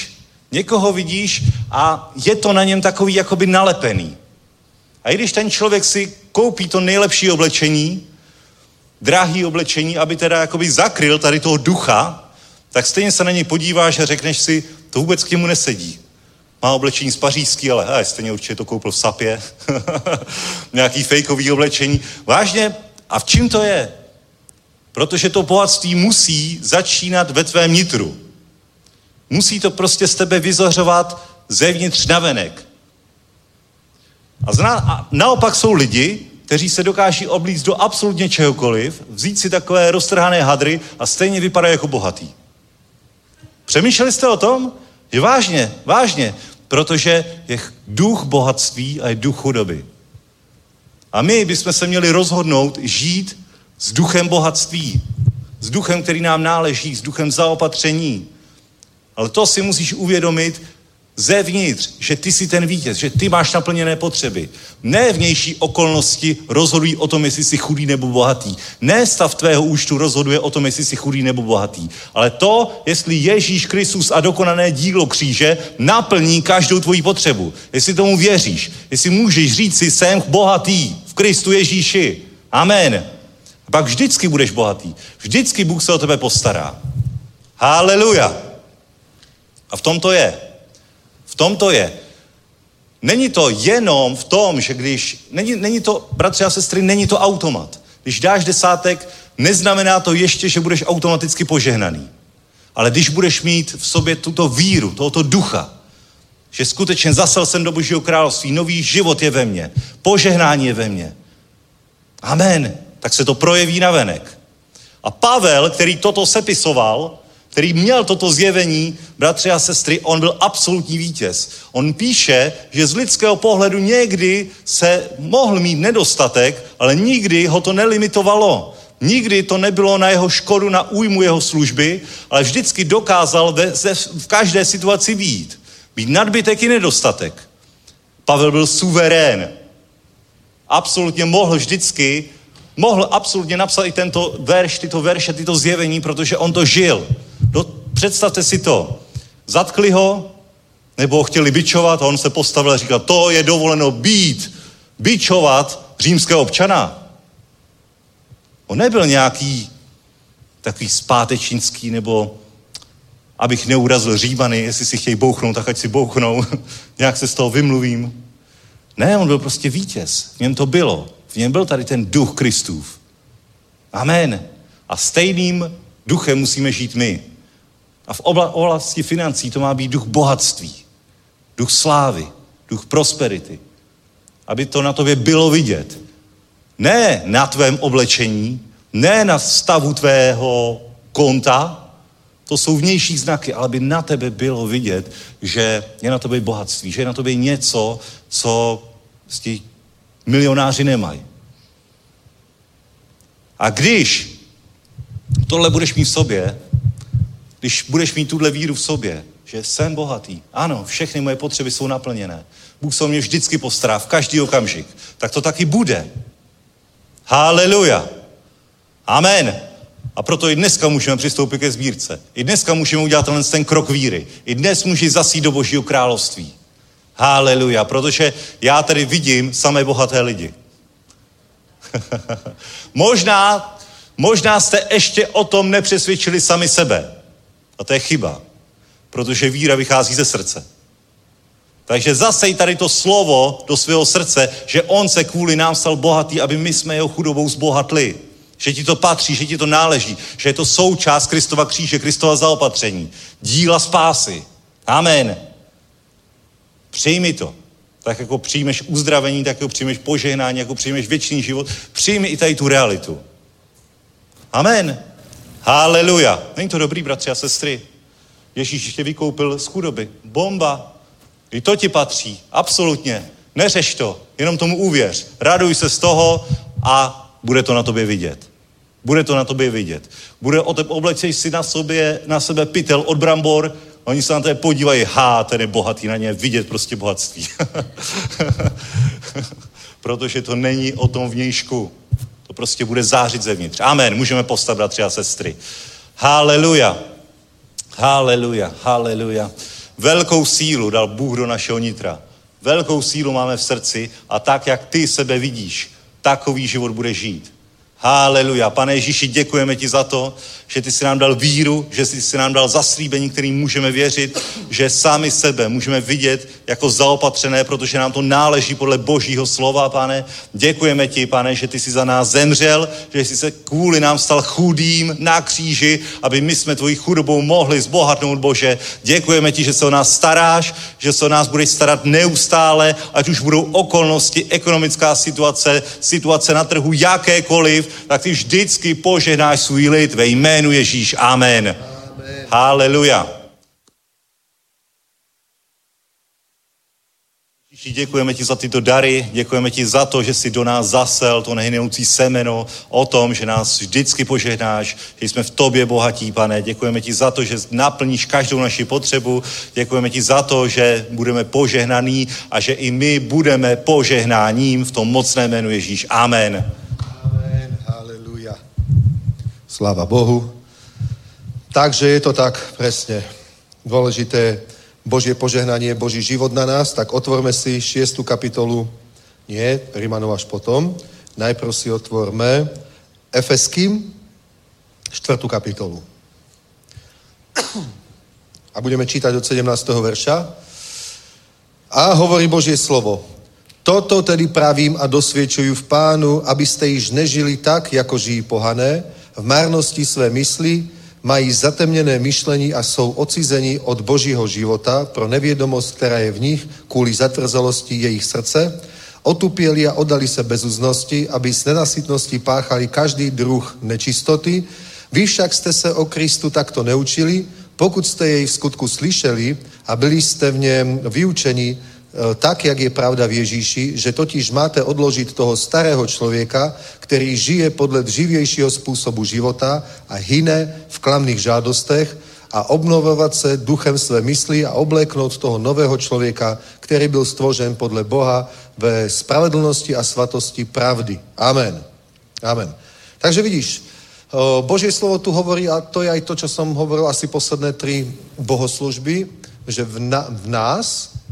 vidíš a je to na něm takový jakoby nalepený. A i když ten člověk si koupí to nejlepší oblečení, drahý oblečení, aby teda jakoby zakryl tady toho ducha, tak stejně se na něj podíváš a řekneš si, to vůbec k němu nesedí. Má oblečení z pařížský, ale stejně určitě to koupil v Sapě. Nějaký fejkový oblečení. Vážně, a v čím to je? Protože to bohatství musí začínat ve tvém nitru. Musí to prostě z tebe vyzařovat zevnitř navenek. A naopak jsou lidi, kteří se dokáží oblíct do absolutně čehokoliv, vzít si takové roztrhané hadry a stejně vypadají jako bohatý. Přemýšleli jste o tom? Že vážně, protože je duch bohatství a je duch chudoby. A my bychom se měli rozhodnout žít s duchem bohatství, s duchem, který nám náleží, s duchem zaopatření. Ale to si musíš uvědomit zevnitř, že ty jsi ten vítěz, že ty máš naplněné potřeby. Ne vnější okolnosti rozhodují o tom, jestli jsi chudý nebo bohatý. Ne stav tvého účtu rozhoduje o tom, jestli jsi chudý nebo bohatý. Ale to, jestli Ježíš Kristus a dokonané dílo kříže naplní každou tvoji potřebu. Jestli tomu věříš, jestli můžeš říct si, jsem bohatý v Kristu Ježíši. Amen. A pak vždycky budeš bohatý. Vždycky Bůh se o tebe postará. Haleluja. A v tom to je. Není to jenom v tom, že není to, bratři a sestry, není to automat. Když dáš desátek, neznamená to ještě, že budeš automaticky požehnaný. Ale když budeš mít v sobě tuto víru, tohoto ducha, že skutečně zasel jsem do Božího království, nový život je ve mně, požehnání je ve mně. Amen. Tak se to projeví navenek. A Pavel, který toto sepisoval, který měl toto zjevení, bratři a sestry, on byl absolutní vítěz. On píše, že z lidského pohledu někdy se mohl mít nedostatek, ale nikdy ho to nelimitovalo. Nikdy to nebylo na jeho škodu, na újmu jeho služby, ale vždycky dokázal v každé situaci být. Být nadbytek i nedostatek. Pavel byl suverén. Absolutně mohl absolutně napsat i tento verš, tyto verše, tyto zjevení, protože on to žil. Představte si to. Zatkli ho, nebo ho chtěli bičovat a on se postavil a říkal, to je dovoleno být bičovat římského občana. On nebyl nějaký takový zpátečnický, nebo abych neurazil Římany, jestli si chtějí bouchnout, tak ať si bouchnou, nějak se z toho vymluvím. Ne, on byl prostě vítěz. V něm to bylo. V něm byl tady ten duch Kristův. Amen. A stejným duchem musíme žít my. A v oblasti financí to má být duch bohatství, duch slávy, duch prosperity. Aby to na tobě bylo vidět. Ne na tvém oblečení, ne na stavu tvého konta, to jsou vnější znaky, ale aby na tebe bylo vidět, že je na tobě bohatství, že je na tobě něco, co ti milionáři nemají. A když tohle budeš mít v sobě, když budeš mít tuhle víru v sobě, že jsem bohatý, ano, všechny moje potřeby jsou naplněné, Bůh se o mě vždycky postará, v každý okamžik, tak to taky bude. Haleluja. Amen. A proto i dneska můžeme přistoupit ke sbírce. I dneska můžeme udělat ten krok víry. I dnes můžeš zasít do Božího království. Haleluja. Protože já tady vidím samé bohaté lidi. možná jste ještě o tom nepřesvědčili sami sebe. A to je chyba. Protože víra vychází ze srdce. Takže zasej tady to slovo do svého srdce, že on se kvůli nám stal bohatý, aby my jsme jeho chudobou zbohatli. Že ti to patří, že ti to náleží, že je to součást Kristova kříže, Kristova zaopatření, díla spásy. Amen. Přijmi to. Tak jako přijmeš uzdravení, tak jako přijmeš požehnání, jako přijmeš věčný život, přijmi i tady tu realitu. Amen. Haleluja. Není to dobrý, bratři a sestry? Ježíš tě vykoupil z chudoby. Bomba. I to ti patří. Absolutně. Neřeš to. Jenom tomu uvěř. Raduj se z toho a bude to na tobě vidět. Bude to na tobě vidět. Oblečeš si na sebe pytel od brambor, oni se na tebe podívají, ten je bohatý, na ně vidět prostě bohatství. Protože to není o tom vnějšku. To prostě bude zářit zevnitř. Amen. Můžeme postavit, bratři a sestry. Haleluja. Haleluja. Haleluja. Velkou sílu dal Bůh do našeho nitra. Velkou sílu máme v srdci a tak, jak ty sebe vidíš, takový život bude žít. Haleluja. Pane Ježíši, děkujeme ti za to, že ty jsi nám dal víru, že ty jsi nám dal zaslíbení, kterým můžeme věřit, že sami sebe můžeme vidět jako zaopatřené, protože nám to náleží podle Božího slova, pane. Děkujeme ti, pane, že ty jsi za nás zemřel, že jsi se kvůli nám stal chudým na kříži, aby my jsme tvojí chudobou mohli zbohatnout, Bože. Děkujeme ti, že se o nás staráš, že se o nás budeš starat neustále, ať už budou okolnosti, ekonomická situace na trhu jakékoliv, tak ty vždycky požehnáš svůj lid ve jménu Ježíš. Amen. Amen. Haleluja. Ježíši, děkujeme ti za tyto dary, děkujeme ti za to, že jsi do nás zasel to nehynoucí semeno o tom, že nás vždycky požehnáš, že jsme v tobě bohatí, pane. Děkujeme ti za to, že naplníš každou naši potřebu. Děkujeme ti za to, že budeme požehnaní a že i my budeme požehnáním v tom mocném jménu Ježíš. Amen.
Sláva Bohu. Takže je to tak presne dôležité Božie požehnanie, Boží život na nás, tak otvorme si 6. kapitolu, nie, Rimanov až potom, najprv si otvorme Efeským 4. kapitolu. A budeme čítať od 17. verša. A hovorí Božie slovo. Toto tedy pravím a dosviečujú v Pánu, aby ste již nežili tak, ako žijí pohané, v márnosti své mysli, mají zatemněné myšlení a jsou odcizení od Božího života pro nevědomost, která je v nich, kvůli zatvrzelosti jejich srdce, otupěli a oddali se bezúznosti, aby z nenasytnosti páchali každý druh nečistoty. Vy však jste se o Kristu takto neučili, pokud jste jej v skutku slyšeli a byli jste v něm vyučeni, tak, jak je pravda v Ježíši, že totiž máte odložit toho starého člověka, který žije podle dřívějšího způsobu života a hyne v klamných žádostech a obnovovat se duchem své mysli a obléknout toho nového člověka, který byl stvořen podle Boha ve spravedlnosti a svatosti pravdy. Amen. Amen. Takže vidíš, Božie slovo tu hovorí, a to je aj to, čo som hovoril asi posledné 3 bohoslužby, že v nás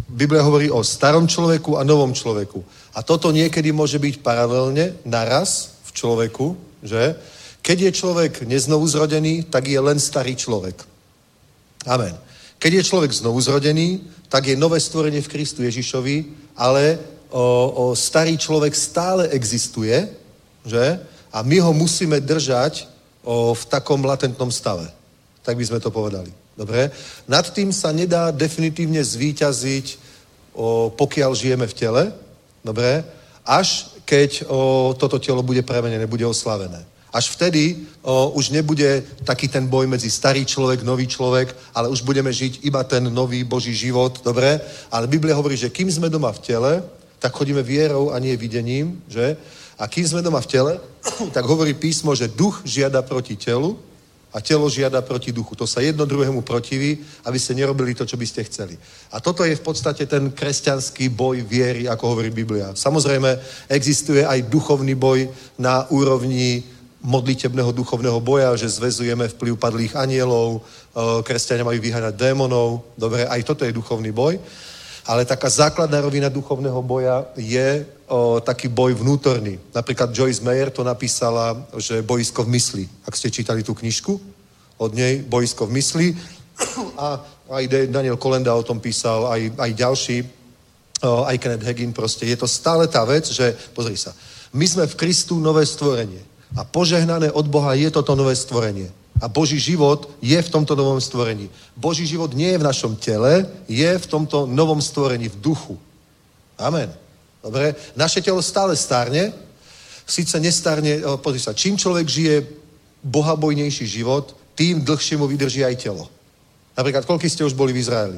Biblia hovorí o starom človeku a novom človeku. A toto niekedy môže byť paralelne naraz v človeku, že? Keď je človek neznovu zrodený, tak je len starý človek. Amen. Keď je človek znovu zrodený, tak je nové stvorenie v Kristu Ježišovi, ale starý človek stále existuje, že? A my ho musíme držať v takom latentnom stave. Tak by sme to povedali. Dobre? Nad tým sa nedá definitívne zvíťaziť, pokiaľ žijeme v tele. Dobre? Až keď toto telo bude premenené, bude oslavené. Až vtedy už nebude taký ten boj medzi starý človek, nový človek, ale už budeme žiť iba ten nový Boží život. Dobre? Ale Biblia hovorí, že kým sme doma v tele, tak chodíme vierou a nie videním, že? A kým sme doma v tele, tak hovorí písmo, že duch žiada proti telu a telo žiada proti duchu. To sa jedno druhému protiví, aby ste nerobili to, čo by ste chceli. A toto je v podstate ten kresťanský boj viery, ako hovorí Biblia. Samozrejme, existuje aj duchovný boj na úrovni modlitebného duchovného boja, že zväzujeme vplyv padlých anielov, kresťania majú vyháňať démonov. Dobre, aj toto je duchovný boj. Ale taká základná rovina duchovného boja je taký boj vnútorný. Napríklad Joyce Meyer to napísala, že bojisko v mysli. Ak ste čítali tú knižku od nej, bojisko v mysli. A aj Daniel Kolenda o tom písal, aj ďalší, aj Kenneth Hagin proste. Je to stále tá vec, že, pozri sa, my sme v Kristu nové stvorenie. A požehnané od Boha je toto nové stvorenie. A Boží život je v tomto novom stvorení. Boží život nie je v našom tele, je v tomto novom stvorení, v duchu. Amen. Dobre? Naše telo stále stárne, síce nestárne, pozri sa, čím človek žije bohabojnejší život, tým dlhšie mu vydrží aj telo. Napríklad, koľko ste už boli v Izraeli?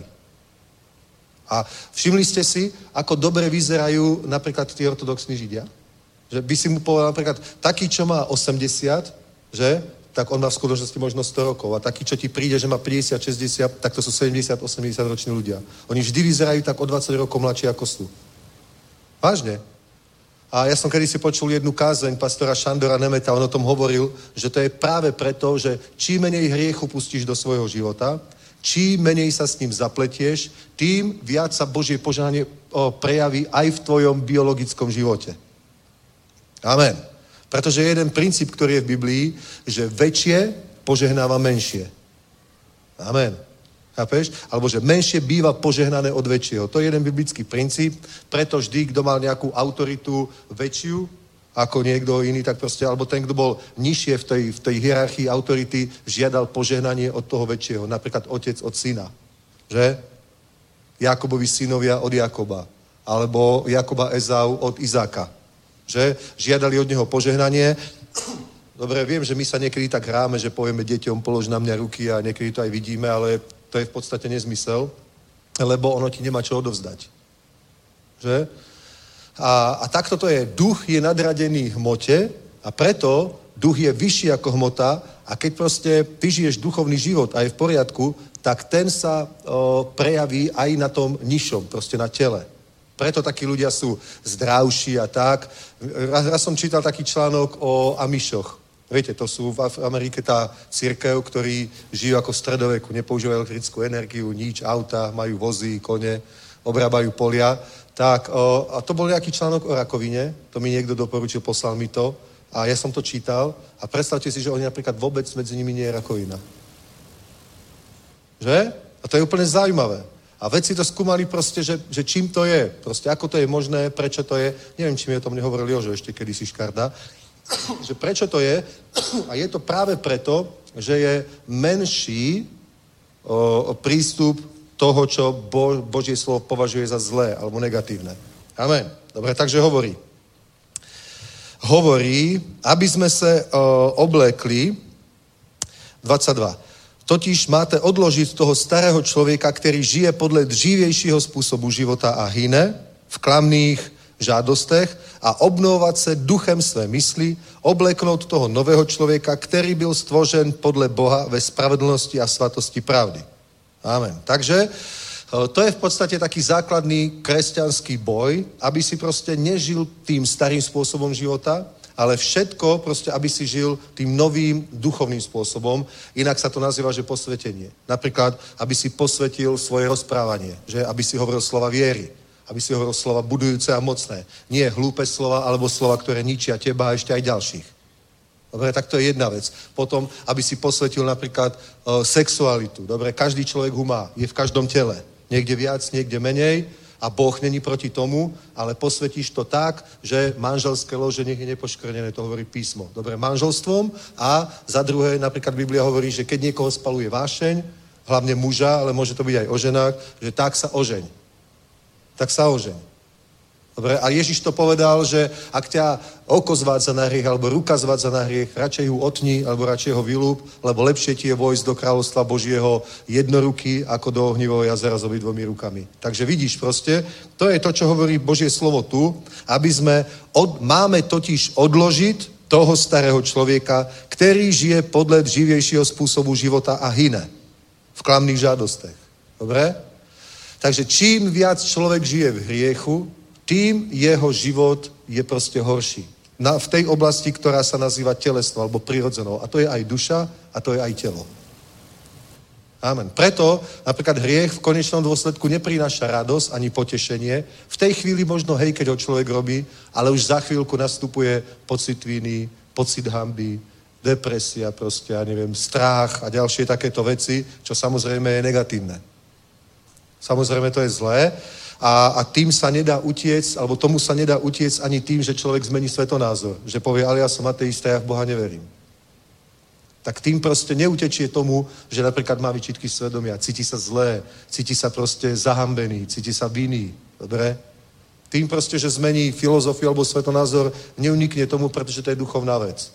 A všimli ste si, ako dobre vyzerajú napríklad tí ortodoxní Židia? Že by si mu povedal napríklad, taký, čo má 80, že? Tak on má v skutočnosti možno 100 rokov. A taký, čo ti príde, že má 50, 60, tak to sú 70, 80 roční ľudia. Oni vždy vyzerajú tak o 20 rokov mladší, ako sú. Vážne. A ja som kedysi počul jednu kázeň pastora Šandora Nemeta, on o tom hovoril, že to je práve preto, že čím menej hriechu pustíš do svojho života, čím menej sa s ním zapletieš, tým viac sa Božie požehnanie prejaví aj v tvojom biologickom živote. Amen. Pretože je jeden princíp, ktorý je v Biblii, že väčšie požehnáva menšie. Amen. Chápeš? Alebo že menšie býva požehnané od väčšieho. To je jeden biblický princíp, preto vždy, kto mal nejakú autoritu väčšiu ako niekto iný, tak proste, alebo ten, kto bol nižšie v tej hierarchii autority, žiadal požehnanie od toho väčšieho. Napríklad otec od syna. Že? Jakobovi synovia od Jakoba. Alebo Jakoba Ezau od Izáka. Že? Žiadali od neho požehnanie. Dobre, viem, že my sa niekedy tak hráme, že povieme deťom, polož na mňa ruky a niekedy to aj vidíme, ale to je v podstate nezmysel, lebo ono ti nemá čo odovzdať. Že? A takto to je. Duch je nadradený hmote a preto duch je vyšší ako hmota a keď proste ty žiješ duchovný život a je v poriadku, tak ten sa prejaví aj na tom nižšom, proste na tele. Preto takí ľudia sú zdravší a tak. Raz som čítal taký článok o Amišoch. Viete, to sú v Amerike tá cirkev, ktorí žijú ako v stredoveku, nepoužívajú elektrickú energiu, nič, auta, majú vozy, kone, obrábajú polia. Tak, a to bol nejaký článok o rakovine, to mi niekto doporučil, poslal mi to a ja som to čítal a predstavte si, že oni napríklad vôbec medzi nimi nie je rakovina. Že? A to je úplne zaujímavé. A vedci to skúmali proste, že čím to je, proste ako to je možné, prečo to je, neviem, či mi o tom nehovoril Jožo ešte kedysi Škarda, že prečo to je a je to práve preto, že je menší prístup toho, čo Božie slovo považuje za zlé alebo negatívne. Amen. Dobre, takže hovorí, aby sme se oblekli 22. Totiž máte odložit toho starého člověka, který žije podle dřívějšího způsobu života a hyne v klamných žádostech a obnovovat se duchem své mysli, obleknout toho nového člověka, který byl stvořen podle Boha ve spravedlnosti a svatosti pravdy. Amen. Takže to je v podstate taký základný kresťanský boj, aby si proste nežil tým starým spôsobom života, ale všetko proste, aby si žil tým novým duchovným spôsobom. Inak sa to nazýva, že posvetenie. Napríklad, aby si posvetil svoje rozprávanie, že aby si hovoril slova viery, aby si hovoril slova budujúce a mocné. Nie hlúpe slova, alebo slova, ktoré ničia teba a ešte aj ďalších. Dobre, tak to je jedna vec. Potom, aby si posvetil napríklad sexualitu. Dobre, každý človek ho má, je v každom tele. Niekde viac, niekde menej a Boh není proti tomu, ale posvetíš to tak, že manželské lože nech je nepoškvrnené, to hovorí písmo. Dobre, manželstvom a za druhé, napríklad Biblia hovorí, že keď niekoho spaluje vášeň, hlavne muža, ale môže to byť aj o ženách, že tak sa ožeň. Tak sa ožeň. Dobre, a Ježiš to povedal, že ak ťa oko zvádza na hriech, alebo ruka zvádza na hriech, radšej ho otni, alebo radšej ho vylúb, lebo lepšie ti je vojsť do kráľovstva Božieho jednoruky, ako do ohnivého jazera s obidvomi rukami. Takže vidíš proste, to je to, čo hovorí Božie slovo tu, aby sme, máme totiž odložiť toho starého človeka, ktorý žije podľa živejšieho spôsobu života a hyne v klamných žádostech. Dobre? Takže čím viac človek žije v hriechu, tým jeho život je proste horší. V tej oblasti, ktorá sa nazýva telesnou alebo prirodzenou. A to je aj duša a to je aj telo. Amen. Preto napríklad hriech v konečnom dôsledku neprináša radosť ani potešenie. V tej chvíli možno, hej, keď ho človek robí, ale už za chvíľku nastupuje pocit viny, pocit hanby, depresia proste, ja neviem, strach a ďalšie takéto veci, čo samozrejme je negatívne. Samozrejme to je zlé. A tým sa nedá utiec, alebo tomu sa nedá utiec ani tým, že človek zmení svetonázor. Že povie, ale ja som ateista, ja v Boha neverím. Tak tým proste neutečie tomu, že napríklad má výčitky svedomia, cíti sa zlé, cíti sa proste zahambený, cíti sa vinný. Dobre? Tým proste, že zmení filozofiu alebo svetonázor, neunikne tomu, pretože to je duchovná vec.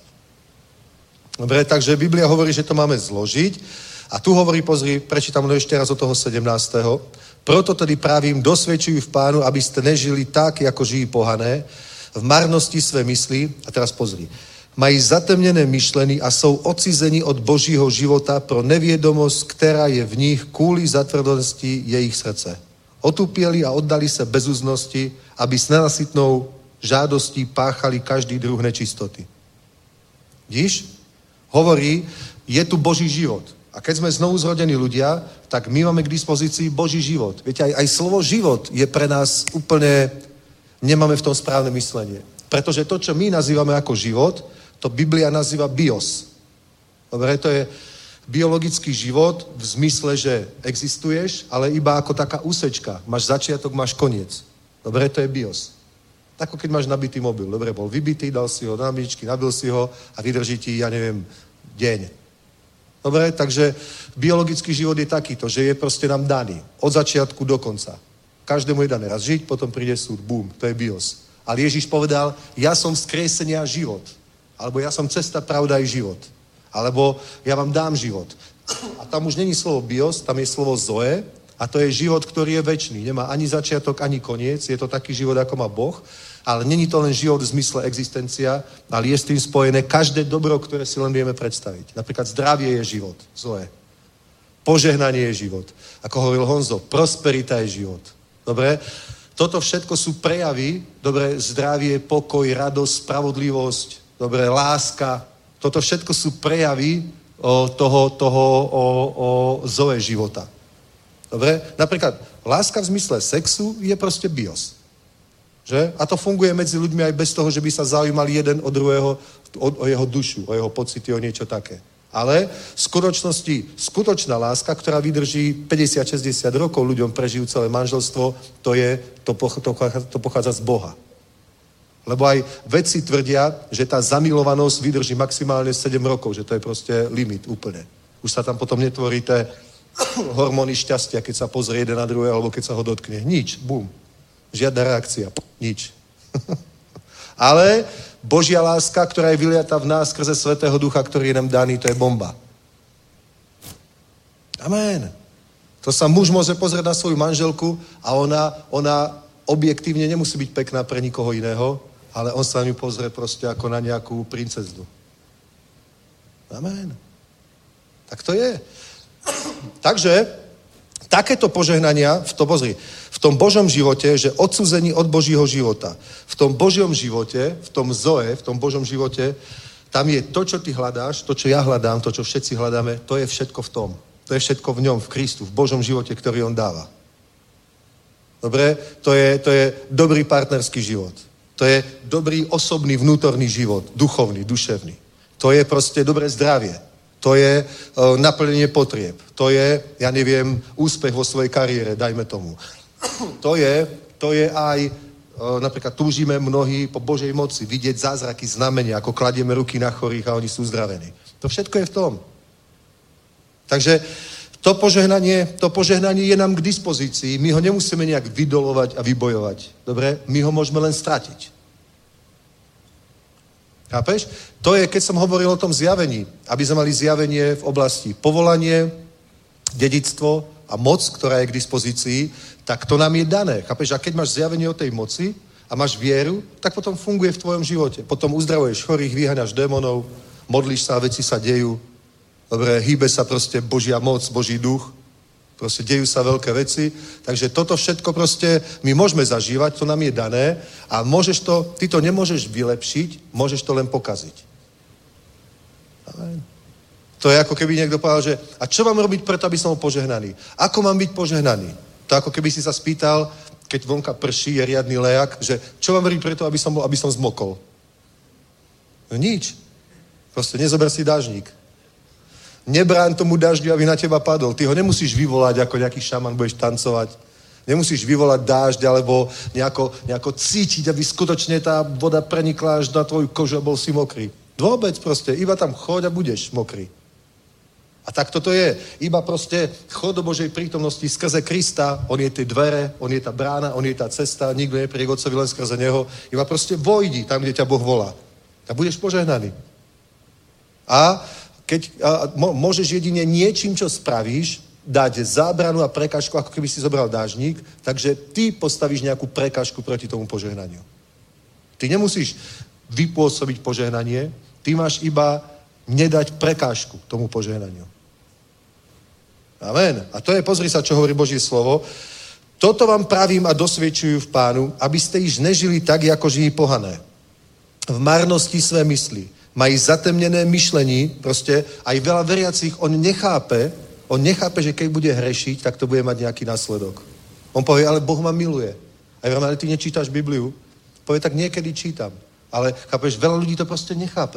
Dobre? Takže Biblia hovorí, že to máme zložiť. A tu hovorí, pozri, prečítam to ešte raz od toho 17. Proto tedy pravím, dosvedčujú v Pánu, aby ste nežili tak, jako žijí pohané, v marnosti své mysli, a teraz pozri, mají zatemnené myšlení a jsou odcizení od Božího života pro nevědomost, která je v nich kvůli zatvrdosti jejich srdce. Otupěli a oddali se bezúznosti, aby s nenasytnou žádostí páchali každý druh nečistoty. Vidíš? Hovorí, je tu Boží život. A keď sme znovu zrodení ľudia, tak my máme k dispozícii Boží život. Viete, aj slovo život je pre nás úplne, nemáme v tom správne myslenie. Pretože to, čo my nazývame ako život, to Biblia nazýva bios. Dobre, to je biologický život v zmysle, že existuješ, ale iba ako taká úsečka. Máš začiatok, máš koniec. Dobre, to je bios. Tako keď máš nabitý mobil. Dobre, bol vybitý, dal si ho do nabíječky, nabil si ho a vydrží ti, ja neviem, deň. Dobre, takže biologický život je takýto, že je proste nám daný. Od začiatku do konca. Každému je dané raz žiť, potom príde súd. Bum, to je bios. Ale Ježiš povedal, ja som vzkriesenie a život. Alebo ja som cesta, pravda i život. Alebo ja vám dám život. A tam už není slovo bios, tam je slovo zoe a to je život, ktorý je večný. Nemá ani začiatok, ani koniec. Je to taký život, ako má Boh. Ale není to len život v zmysle existencia, ale je s tým spojené každé dobro, ktoré si len vieme predstaviť. Napríklad zdravie je život, zoe. Požehnanie je život. Ako hovoril Honzo, prosperita je život. Dobre? Toto všetko sú prejavy, dobre, zdravie, pokoj, radosť, spravodlivosť, dobre, láska. Toto všetko sú prejavy toho zoe života. Dobre? Napríklad láska v zmysle sexu je proste bios. Že? A to funguje medzi ľuďmi aj bez toho, že by sa zaujímali jeden od druhého o jeho dušu, o jeho pocity, o niečo také. Ale v skutočnosti, skutočná láska, ktorá vydrží 50-60 rokov ľuďom prežijú celé manželstvo, to pochádza z Boha. Lebo aj vedci tvrdia, že tá zamilovanosť vydrží maximálne 7 rokov, že to je proste limit úplne. Už sa tam potom netvorí tie hormóny šťastia, keď sa pozrie jeden na druhé, alebo keď sa ho dotkne. Nič, bum. Žiadna reakcia. Nič. Ale Božia láska, ktorá je vyliata v nás skrze Svätého Ducha, ktorý je nám daný, to je bomba. Amen. To sa muž môže pozrieť na svoju manželku a ona objektívne nemusí byť pekná pre nikoho iného, ale on sa na ňu pozrie proste ako na nejakú princeznu. Amen. Tak to je. Takže takéto požehnania, pozri, v tom Božom živote, že odsúzení od Božího života. V tom Božom živote, v tom Zoe, v tom Božom živote, tam je to, čo ty hľadáš, to, čo ja hľadám, to, čo všetci hľadáme, to je všetko v tom. To je všetko v ňom, v Kristu, v Božom živote, ktorý on dáva. Dobre? To je dobrý partnerský život. To je dobrý osobný vnútorný život, duchovný, duševný. To je proste dobré zdravie. To je naplnenie potrieb. To je, ja neviem, úspech vo svojej kariére, dajme tomu. To je aj, napríklad túžime mnohí po Božej moci, vidieť zázraky, znamenia, ako kladieme ruky na chorých a oni sú uzdravení. To všetko je v tom. Takže to požehnanie je nám k dispozícii. My ho nemusíme nejak vydolovať a vybojovať. Dobre? My ho môžeme len stratiť. Chápeš? To je, keď som hovoril o tom zjavení. Aby sme mali zjavenie v oblasti povolanie, dedičstvo a moc, ktorá je k dispozícii, tak to nám je dané. Chápeš? A keď máš zjavenie o tej moci a máš vieru, tak potom funguje v tvojom živote. Potom uzdravuješ chorých, vyháňaš démonov, modlíš sa a veci sa dejú. Dobre, hýbe sa proste Božia moc, Boží duch. Proste dejú sa veľké veci. Takže toto všetko proste my môžeme zažívať, to nám je dané a ty to nemôžeš vylepšiť, môžeš to len pokaziť. Amen. To je ako keby niekto povedal, že a čo mám robiť preto, aby som bol požehnaný? Ako mám byť požehnaný? To ako keby si sa spýtal, keď vonka prší, je riadny lejak, že čo mám robiť preto, aby som zmokol? No nič. Proste nezober si dážnik. Nebráň tomu dažďu, aby na teba padol. Ty ho nemusíš vyvolať, ako nejaký šaman budeš tancovať. Nemusíš vyvolať dážď, alebo nejako cítiť, aby skutočne tá voda prenikla až na tvoju kožu a bol si mokrý. Vôbec proste, iba tam choď a budeš mokrý. A tak toto je. Iba proste chod do Božej prítomnosti skrze Krista. On je tie dvere, on je tá brána, on je tá cesta. Nikto nepríde k Otcovi len skrze neho. Iba proste vojdi tam, kde ťa Boh volá. A budeš požehnaný. A môžeš jedine niečím, čo spravíš, dať zábranu a prekažku, ako keby si zobral dážnik, takže ty postavíš nejakú prekažku proti tomu požehnaniu. Ty nemusíš vypôsobiť požehnanie, ty máš iba nedať prekážku tomu požehnaniu. Amen. A to je, pozri sa, čo hovorí Božie slovo. Toto vám pravím a dosvedčujú v Pánu, aby ste již nežili tak, ako žijí pohané. V marnosti své mysli. Mají zatemnené myšlení, proste aj veľa veriacich, on nechápe, že keď bude hrešiť, tak to bude mať nejaký následok. On povie, ale Boh ma miluje. A ja ale ty nečítaš Bibliu? Povie, tak niekedy čítam. Ale chápeš, veľa ľudí to proste nechápe.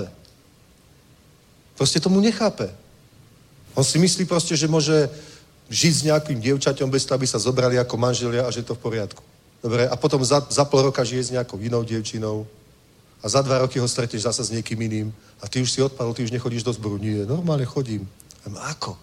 Proste tomu nechápe. On si myslí proste, že môže žiť s nejakým dievčaťom bez toho, aby sa zobrali ako manželia a že je to v poriadku. Dobre, a potom za pol roka žije s nejakou inou dievčinou a za 2 roky ho stretneš zase s niekým iným a ty už si odpadol, ty už nechodíš do zboru. Nie, normálne chodím. Ako?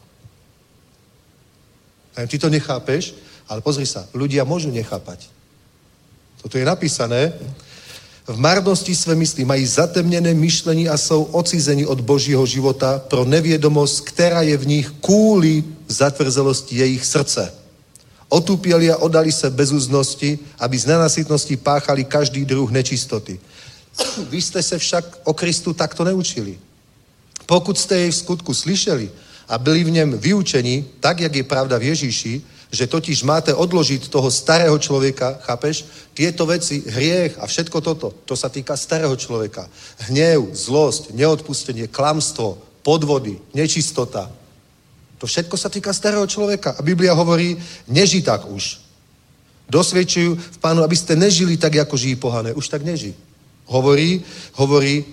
Ty to nechápeš, ale pozri sa, ľudia môžu nechápať. Toto je napísané. V marnosti své mysli mají zatemnené myšlení a jsou odcizeni od Božího života pro nevědomost, která je v nich kvůli zatvrzelosti jejich srdce. Otupěli a oddali se bezúznosti, aby z nenasytnosti páchali každý druh nečistoty. Vy jste se však o Kristu takto neučili. Pokud jste jej v skutku slyšeli a byli v něm vyučeni, tak, jak je pravda v Ježíši, že totiž máte odložiť toho starého človeka, chápeš? Tieto veci, hriech a všetko toto, to sa týka starého človeka. Hnev, zlosť, neodpustenie, klamstvo, podvody, nečistota. To všetko sa týka starého človeka. A Biblia hovorí, neži tak už. Dosvedčujú v Pánu, aby ste nežili tak, ako žijí pohané. Už tak neži. Hovorí,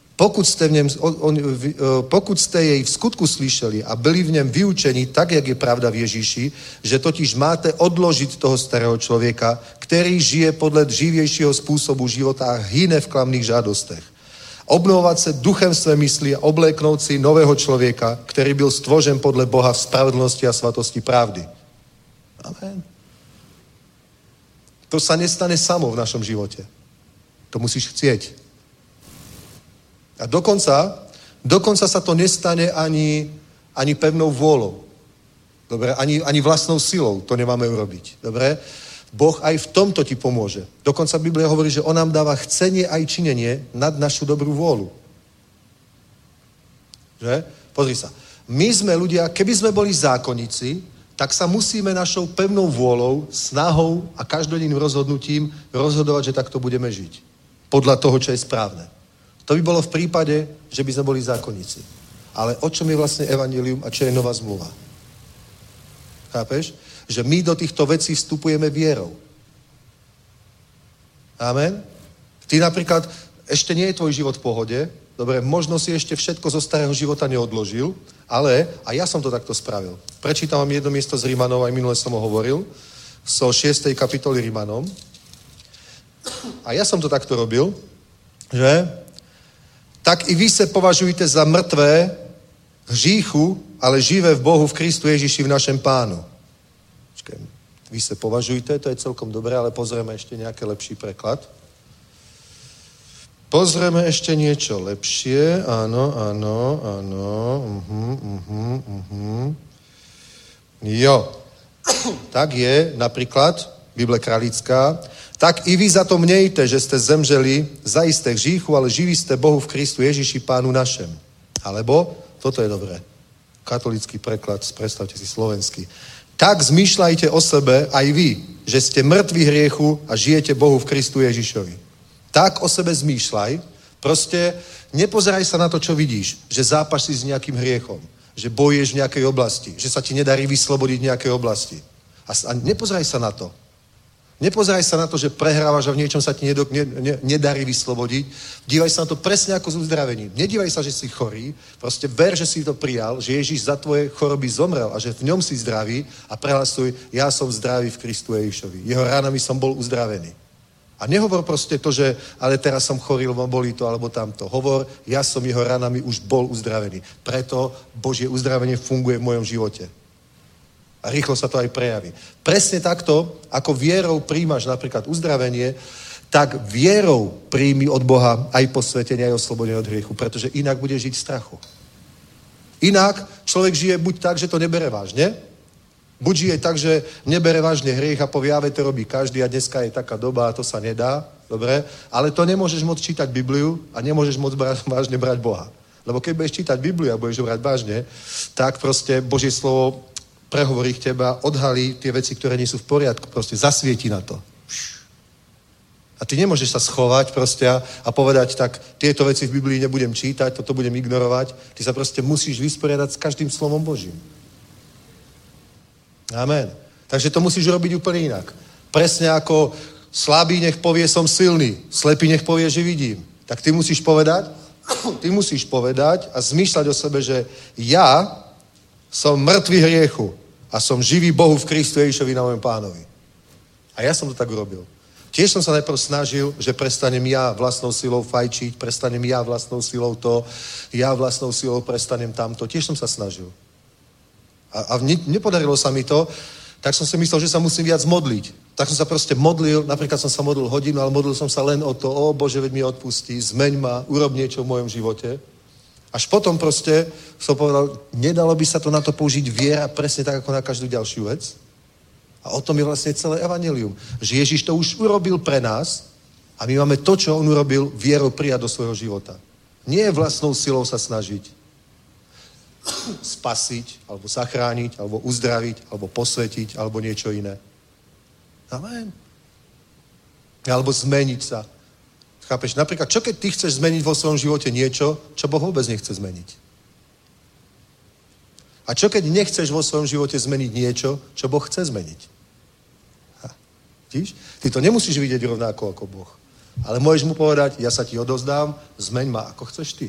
pokud jste jej v skutku slyšeli a byli v něm vyučeni tak, jak je pravda v Ježíši, že totiž máte odložit toho starého člověka, který žije podle dřívějšího způsobu života a hyne v klamných žádostech. Obnovovat se duchem své mysli a obléknout si nového člověka, který byl stvořen podle Boha v spravedlnosti a svatosti pravdy. Amen. To sa nestane samo v našom živote. To musíš chcieť. A dokonca sa to nestane ani pevnou vôľou. Dobre? Ani vlastnou silou to nemáme urobiť. Dobre? Boh aj v tomto ti pomôže. Dokonca Biblia hovorí, že on nám dáva chcenie aj činenie nad našu dobrú vôľu. Že? Pozri sa. My sme ľudia, keby sme boli zákonníci, tak sa musíme našou pevnou vôľou, snahou a každodenným rozhodnutím rozhodovať, že takto budeme žiť. Podľa toho, čo je správne. To by bolo v prípade, že by sme boli zákonníci. Ale o čom je vlastne evanjelium a čo je nová zmluva? Chápeš? Že my do týchto vecí vstupujeme vierou. Amen? Ty napríklad, ešte nie je tvoj život v pohode, dobre, možno si ešte všetko zo starého života neodložil, ale, a ja som to takto spravil. Prečítam vám jedno miesto z Rimanov, aj minule som ho hovoril, so 6. kapitoly Rimanom. A ja som to takto robil, že tak i vy se považujte za mŕtvé hříchu, ale živé v Bohu v Kristu Ježiši v našem Pánu. Vy se považujte, to je celkom dobré, ale pozrieme ešte nejaký lepší preklad. Pozrieme ešte niečo lepšie. Áno. Jo. Tak je napríklad, Bible Kralická, tak i vy za to mějte, že ste zemřeli zajisté hříchu, ale živí ste Bohu v Kristu Ježiši Pánu našem. Alebo, toto je dobré, katolický preklad, predstavte si slovenský. Tak zmýšľajte o sebe aj vy, že ste mŕtvi hriechu a žijete Bohu v Kristu Ježišovi. Tak o sebe zmýšľaj, proste nepozeraj sa na to, čo vidíš, že zápašíš s nejakým hriechom, že bojuješ v nejakej oblasti, že sa ti nedarí vyslobodiť v nejakej oblasti. A nepozeraj sa na to. Nepozeraj sa na to, že prehrávaš a v niečom sa ti nedarí vyslobodiť. Dívaj sa na to presne ako s uzdravením. Nedívaj sa, že si chorý, proste ver, že si to prijal, že Ježíš za tvoje choroby zomrel a že v ňom si zdravý a prehlasuj, ja som zdravý v Kristu Ježišovi. Jeho ránami som bol uzdravený. A nehovor proste to, že ale teraz som chorý, lebo bolí to alebo tamto. Hovor, ja som jeho ranami už bol uzdravený. Preto Božie uzdravenie funguje v mojom živote. A rýchlo sa to aj prejaví. Presne takto, ako vierou príjmaš napríklad uzdravenie, tak vierou príjmi od Boha aj posvetenie, aj oslobodenie od hriechu, pretože inak bude žiť v strachu. Inak človek žije buď tak, že to nebere vážne, buď žije tak, že nebere vážne hriech a povie, to robí každý a dneska je taká doba a to sa nedá, dobre, ale to nemôžeš moc čítať Bibliu a nemôžeš moc vážne brať Boha. Lebo keď budeš čítať Bibliu a budeš brať vážne, tak proste Božie slovo prehovorí k teba, odhalí tie veci, ktoré nie sú v poriadku, proste zasvieti na to. A ty nemôžeš sa schovať proste a povedať, tak tieto veci v Biblii nebudem čítať, toto budem ignorovať. Ty sa proste musíš vysporiadať s každým slovom Božím. Amen. Takže to musíš robiť úplne inak. Presne ako slabý nech povie, som silný, slepý nech povie, že vidím. Tak ty musíš povedať a zmýšľať o sebe, že ja som mŕtvý hriechu a som živý Bohu v Kristu Ježišovi na mojom Pánovi. A ja som to tak urobil. Tiež som sa najprv snažil, že prestanem ja vlastnou silou fajčiť, prestanem ja vlastnou silou to, ja vlastnou silou prestanem tamto. Tiež som sa snažil. A nepodarilo sa mi to, tak som si myslel, že sa musím viac modliť. Tak som sa proste modlil, napríklad som sa modlil hodinu, ale modlil som sa len o to, Bože, veď mi odpustí, zmeň ma, urob niečo v mojom živote. Až potom proste som povedal, nedalo by sa to na to použiť viera presne tak, ako na každú ďalšiu vec? A o tom je vlastne celé evanjelium. Že Ježiš to už urobil pre nás a my máme to, čo on urobil, vierou prijať do svojho života. Nie vlastnou silou sa snažiť spasiť, alebo zachrániť, alebo uzdraviť, alebo posvetiť, alebo niečo iné. Amen. Alebo zmeniť sa. Chápeš? Napríklad, čo keď ty chceš zmeniť vo svojom živote niečo, čo Boh vôbec nechce zmeniť? A čo keď nechceš vo svojom živote zmeniť niečo, čo Boh chce zmeniť? Vidíš? Ty to nemusíš vidieť rovnako ako Boh. Ale môžeš mu povedať, ja sa ti odovzdám, zmeň ma, ako chceš ty.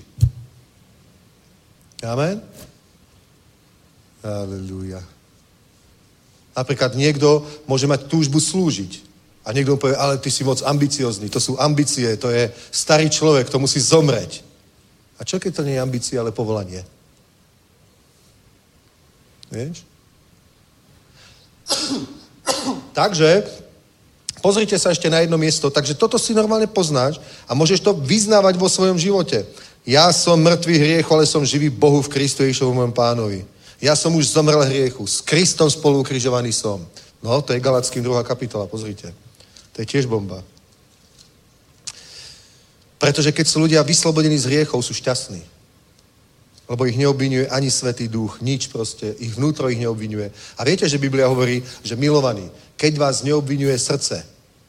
Amen? Halelúja. Napríklad niekto môže mať túžbu slúžiť. A niekto mu povie, ale ty si moc ambiciozný, to sú ambície, to je starý človek, to musí zomreť. A čo keď to nie je ambícia, ale povolanie? Vieš? Takže, pozrite sa ešte na jedno miesto, takže toto si normálne poznáš a môžeš to vyznávať vo svojom živote. Ja som mŕtvý hriechu, ale som živý Bohu v Kristu Ježišovi môjom Pánovi. Ja som už zomrel hriechu, s Kristom spolu ukrižovaný som. No, to je Galackým 2. kapitola, pozrite. To je tiež bomba. Pretože keď sú ľudia vyslobodení z hriechov, sú šťastní. Lebo ich neobvinuje ani Svätý Duch, nič proste, ich vnútro ich neobvinuje. A viete, že Biblia hovorí, že milovaní, keď vás neobvinuje srdce,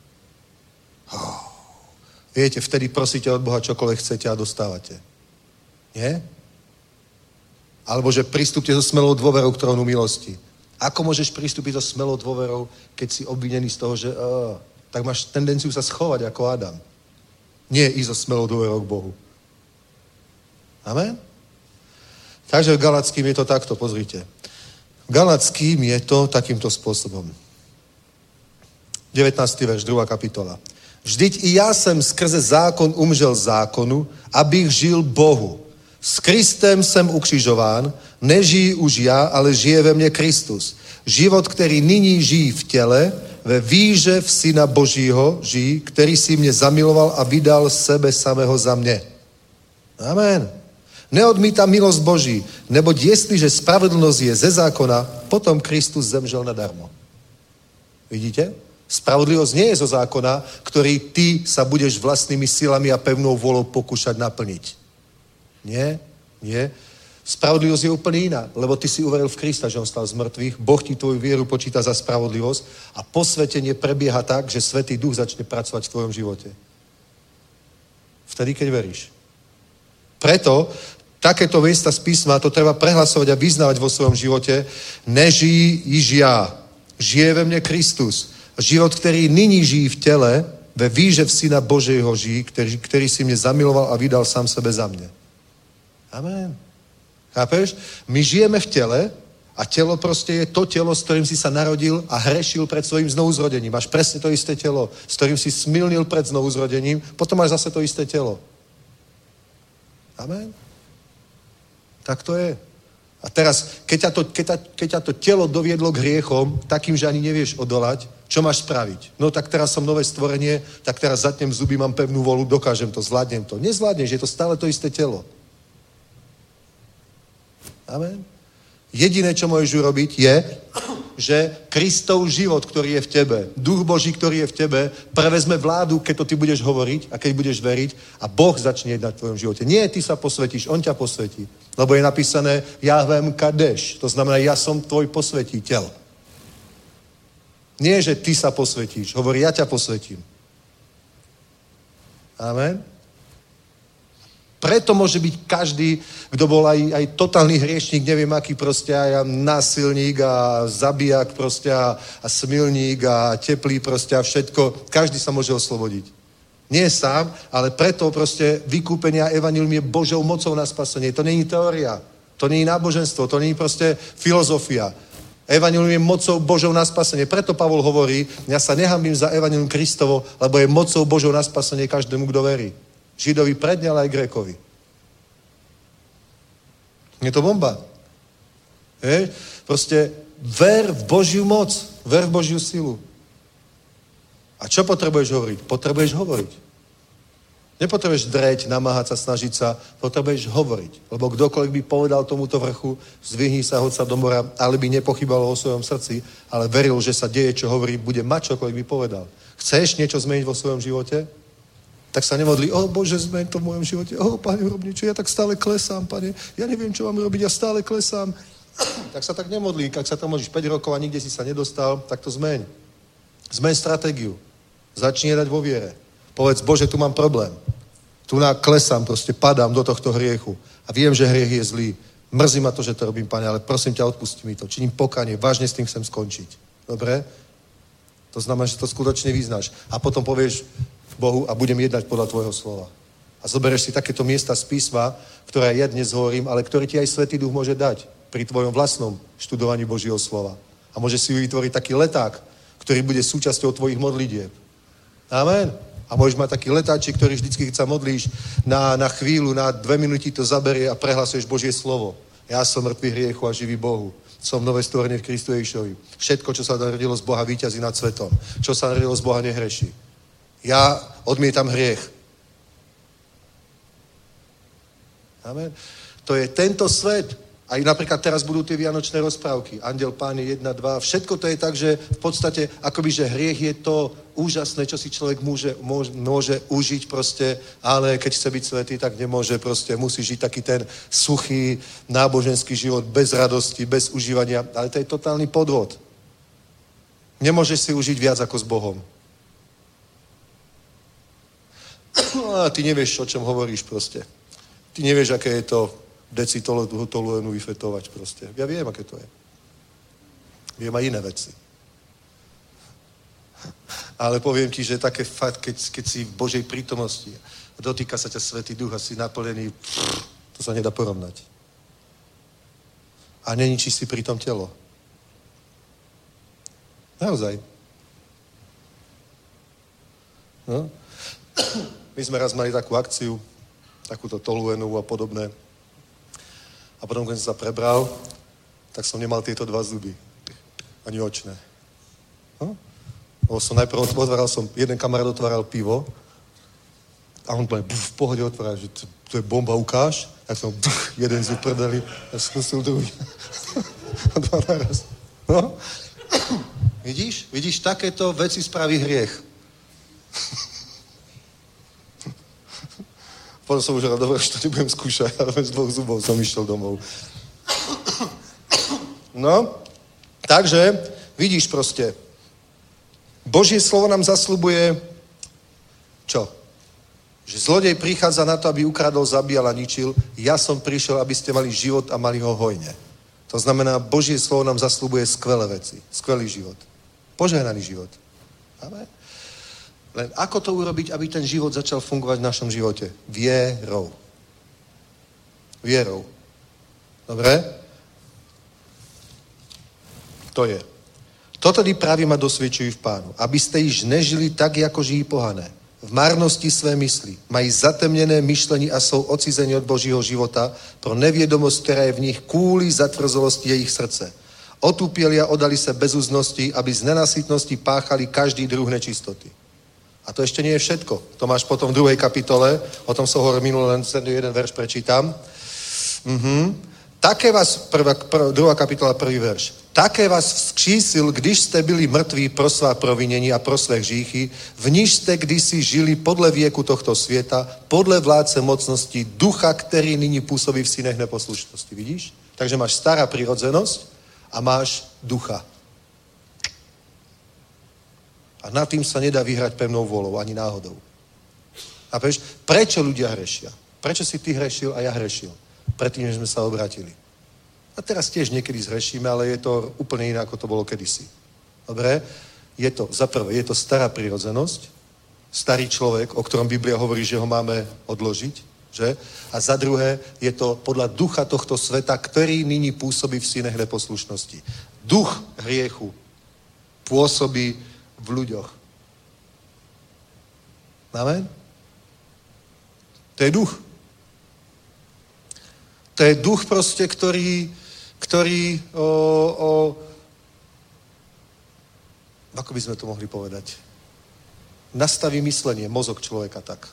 viete, vtedy prosíte od Boha čokoľvek chcete a dostávate. Nie? Alebo že pristúpte so smelou dôverou k trónu milosti. Ako môžeš pristúpiť so smelou dôverou, keď si obvinený z toho, že tak máš tendenciu sa schovať ako Adam. Nie ísť so smelou dôverou k Bohu. Amen? Takže v Galackým je to takto, pozrite. V Galackým je to takýmto spôsobom. 19. verš, 2. kapitola. Vždyť i já jsem skrze zákon umřel zákonu, abych žil Bohu. S Kristem jsem ukřižován, nežijí už já, ale žije ve mně Kristus. Život, který nyní žijí v těle, ve víře v Syna Božího žijí, který si mě zamiloval a vydal sebe samého za mě. Amen. Neodmítám milost Boží, neboť jestliže spravedlnost je ze zákona, potom Kristus zemřel nadarmo. Vidíte? Spravodlivosť nie je zo zákona, ktorý ty sa budeš vlastnými silami a pevnou volou pokúšať naplniť. Nie, nie. Spravodlivosť je úplne iná, lebo ty si uveril v Krista, že on stal z mŕtvych, Boh ti tvoju vieru počíta za spravodlivosť a posvetenie prebieha tak, že Svätý Duch začne pracovať v tvojom živote. Vtedy, keď veríš. Preto takéto miesta z písma to treba prehlasovať a vyznávať vo svojom živote. Nežijí již já, žije ve mne Kristus. Život, který nyní žijí v těle, ve víře v Syna Božího žijí, který si mě zamiloval a vydal sám sebe za mě. Amen. Chápeš? My žijeme v těle a tělo prostě je to tělo, s ktorým si sa narodil a hrešil pred svojím znovuzrodením. Máš presne to isté tělo, s ktorým si smilnil pred znovuzrodením, potom máš zase to isté tělo. Amen. Tak to je. A teraz, keď ťa to telo doviedlo k hriechom, takým, že ani nevieš odolať, čo máš spraviť? No tak teraz som nové stvorenie, tak teraz zatnem zuby, mám pevnú volu, dokážem to, zvládnem to. Nezvládneš, je to stále to isté telo. Amen. Jediné, čo môžeš urobiť, je, že Kristov život, ktorý je v tebe, Duch Boží, ktorý je v tebe, prevezme vládu, keď to ty budeš hovoriť a keď budeš veriť a Boh začne jednať v tvojom živote. Nie, ty sa posvetíš, on ťa posvetí. Lebo je napísané Jahvem Kadeš, to znamená, ja som tvoj posvetiteľ. Nie, že ty sa posvetíš, hovorí, ja ťa posvetím. Amen. Preto môže byť každý, kto bol aj totálny hriešník, neviem aký proste, aj násilník a zabijak proste a smilník a teplý proste a všetko. Každý sa môže oslobodiť. Nie sám, ale preto proste vykúpenie a evanjelium je Božou mocou na spasenie. To není teória, to není náboženstvo, to není proste filozofia. Evanjelium je mocou Božou na spasenie. Preto Pavol hovorí, ja sa nehanbím za evanjelium Kristovo, lebo je mocou Božou na spasenie každému, kto verí. Židovi predne, ale aj Grékovi. Je to bomba. Proste ver v Božiu moc, ver v Božiu silu. A čo potrebuješ hovoriť? Potrebuješ hovoriť. Nepotrebuješ dreť, namáhať sa, snažiť sa, potrebuješ hovoriť. Lebo kdokoľvek by povedal tomuto vrchu, zdvihni sa, hoď sa do mora, ale by nepochybalo o svojom srdci, ale veril, že sa deje, čo hovorí, bude mať čokoľvek by povedal. Chceš niečo zmeniť vo svojom živote? Tak sa nemodlí, Bože, zmeň to v mojom živote. Pane, urob niečo, ja tak stále klesám, Pane. Ja neviem, čo mám robiť, ja stále klesám. Tak sa tak nemodlí. Ak sa tam modlíš 5 rokov a nikde si sa nedostal, tak to zmeň. Zmeň stratégiu. Začni dať vo viere. Povedz, Bože, tu mám problém. Tu klesám, proste padám do tohto hriechu. A viem, že hriech je zlý. Mrzí ma to, že to robím, Pane, ale prosím ťa, odpusti mi to. Činím pokánie, vážne s tým chcem skončiť. Dobre? To znamená, že to skutočne vyznáš. A potom povieš Bohu a budem jednať podľa tvojho slova. A zoberieš si takéto miesta z písma, ktoré ja dnes hovorím, ale ktorý ti aj Svätý Duch môže dať pri tvojom vlastnom študovaní Božieho slova. A môže si vytvoriť taký leták, ktorý bude súčasťou tvojich modlitieb. Amen. A môžeš mať taký letáčik, ktorý vždycky, keď sa modlíš na chvíľu, na 2 minúty to zaberie a prehlasuješ Božie slovo. Ja som mŕtvý hriechu a živý Bohu. Som nové stvorenie v Kristu Ježišovi. Všetko, čo sa narodilo z Boha, víťazí nad svetom. Čo sa narodilo z Boha, nehreší. Ja odmietam hriech. Amen. To je tento svet. Aj napríklad teraz budú tie vianočné rozprávky. Anděl Páně 1, 2. Všetko to je tak, že v podstate akoby, že hriech je to úžasné, čo si človek môže užiť proste, ale keď chce byť svätý, tak nemôže proste. Musí žiť taký ten suchý náboženský život bez radosti, bez užívania. Ale to je totálny podvod. Nemôžeš si užiť viac ako s Bohom. A ty nevieš, o čom hovoríš proste. Ty nevieš, aké je to decitoluenu vyfetovať proste. Ja viem, aké to je. Viem aj iné veci. Ale poviem ti, že také fakt, keď si v Božej prítomnosti a dotýka sa ťa Svätý Duch a si naplnený, to sa nedá porovnať. A neničíš si pri tom telo. Naozaj. No. My sme raz mali takú akciu, takúto toluenu a podobné. A potom, keď som sa prebral, tak som nemal tieto 2 zuby. Ani očné. No? Som najprv otváral, jeden kamarát otváral pivo a on v pohode otváral, že to je bomba, ukáž. Tak som jeden zub prdeli a skúsil druhý. Dva naraz. No? Vidíš, takéto veci spraví hriech. Potom som už rád, dobre, že to nebudem skúšať, ale z 2 zubov som išiel domov. No, takže, vidíš proste, Božie slovo nám zasľubuje, čo? Že zlodej prichádza na to, aby ukradol, zabíjal a ničil. Ja som prišiel, aby ste mali život a mali ho hojne. To znamená, Božie slovo nám zasľubuje skvelé veci, skvelý život. Požehnaný život. Amen. Len ako to urobiť, aby ten život začal fungovať v našom živote? Vierou. Vierou. Dobre? To je. To tedy právě ma dosvědčují v Pánu, abyste již nežili tak, jako žijí pohané. V márnosti své mysli. Mají zatemněné myšlení a jsou odcizeni od Božího života pro nevědomost, která je v nich kvůli zatvrzolosti jejich srdce. Otupěli a odali se bezúznosti, aby z nenasytnosti páchali každý druh nečistoty. A to ešte nie je všetko. To máš potom v 2. kapitole, o tom som hovoril minulý, len jeden verš prečítam. Také vás, 2. kapitola, 1. verš. Také vás vzkřísil, když jste byli mrtví pro svá provinění a pro své hříchy, v níž jste kdysi žili podle věku tohto světa, podle vládce mocnosti ducha, který nyní působí v synech neposlušnosti. Vidíš? Takže máš stará prirodzenosť a máš ducha. A nad tým sa nedá vyhrať pevnou volou, ani náhodou. A prečo ľudia hrešia? Prečo si ty hrešil a ja hrešil? Predtým, než sme sa obratili. A teraz tiež niekedy zhrešíme, ale je to úplne iné, ako to bolo kedysi. Dobre? Je to, za prvé, je to stará prirodzenosť, starý človek, o ktorom Biblia hovorí, že ho máme odložiť, že? A za druhé, je to podľa ducha tohto sveta, ktorý nyní pôsobí v synech neposlušnosti. Duch hriechu pôsobí v ľuďoch. Amen? To je duch. To je duch proste, ktorý ako by sme to mohli povedať? Nastaví myslenie, mozog človeka tak.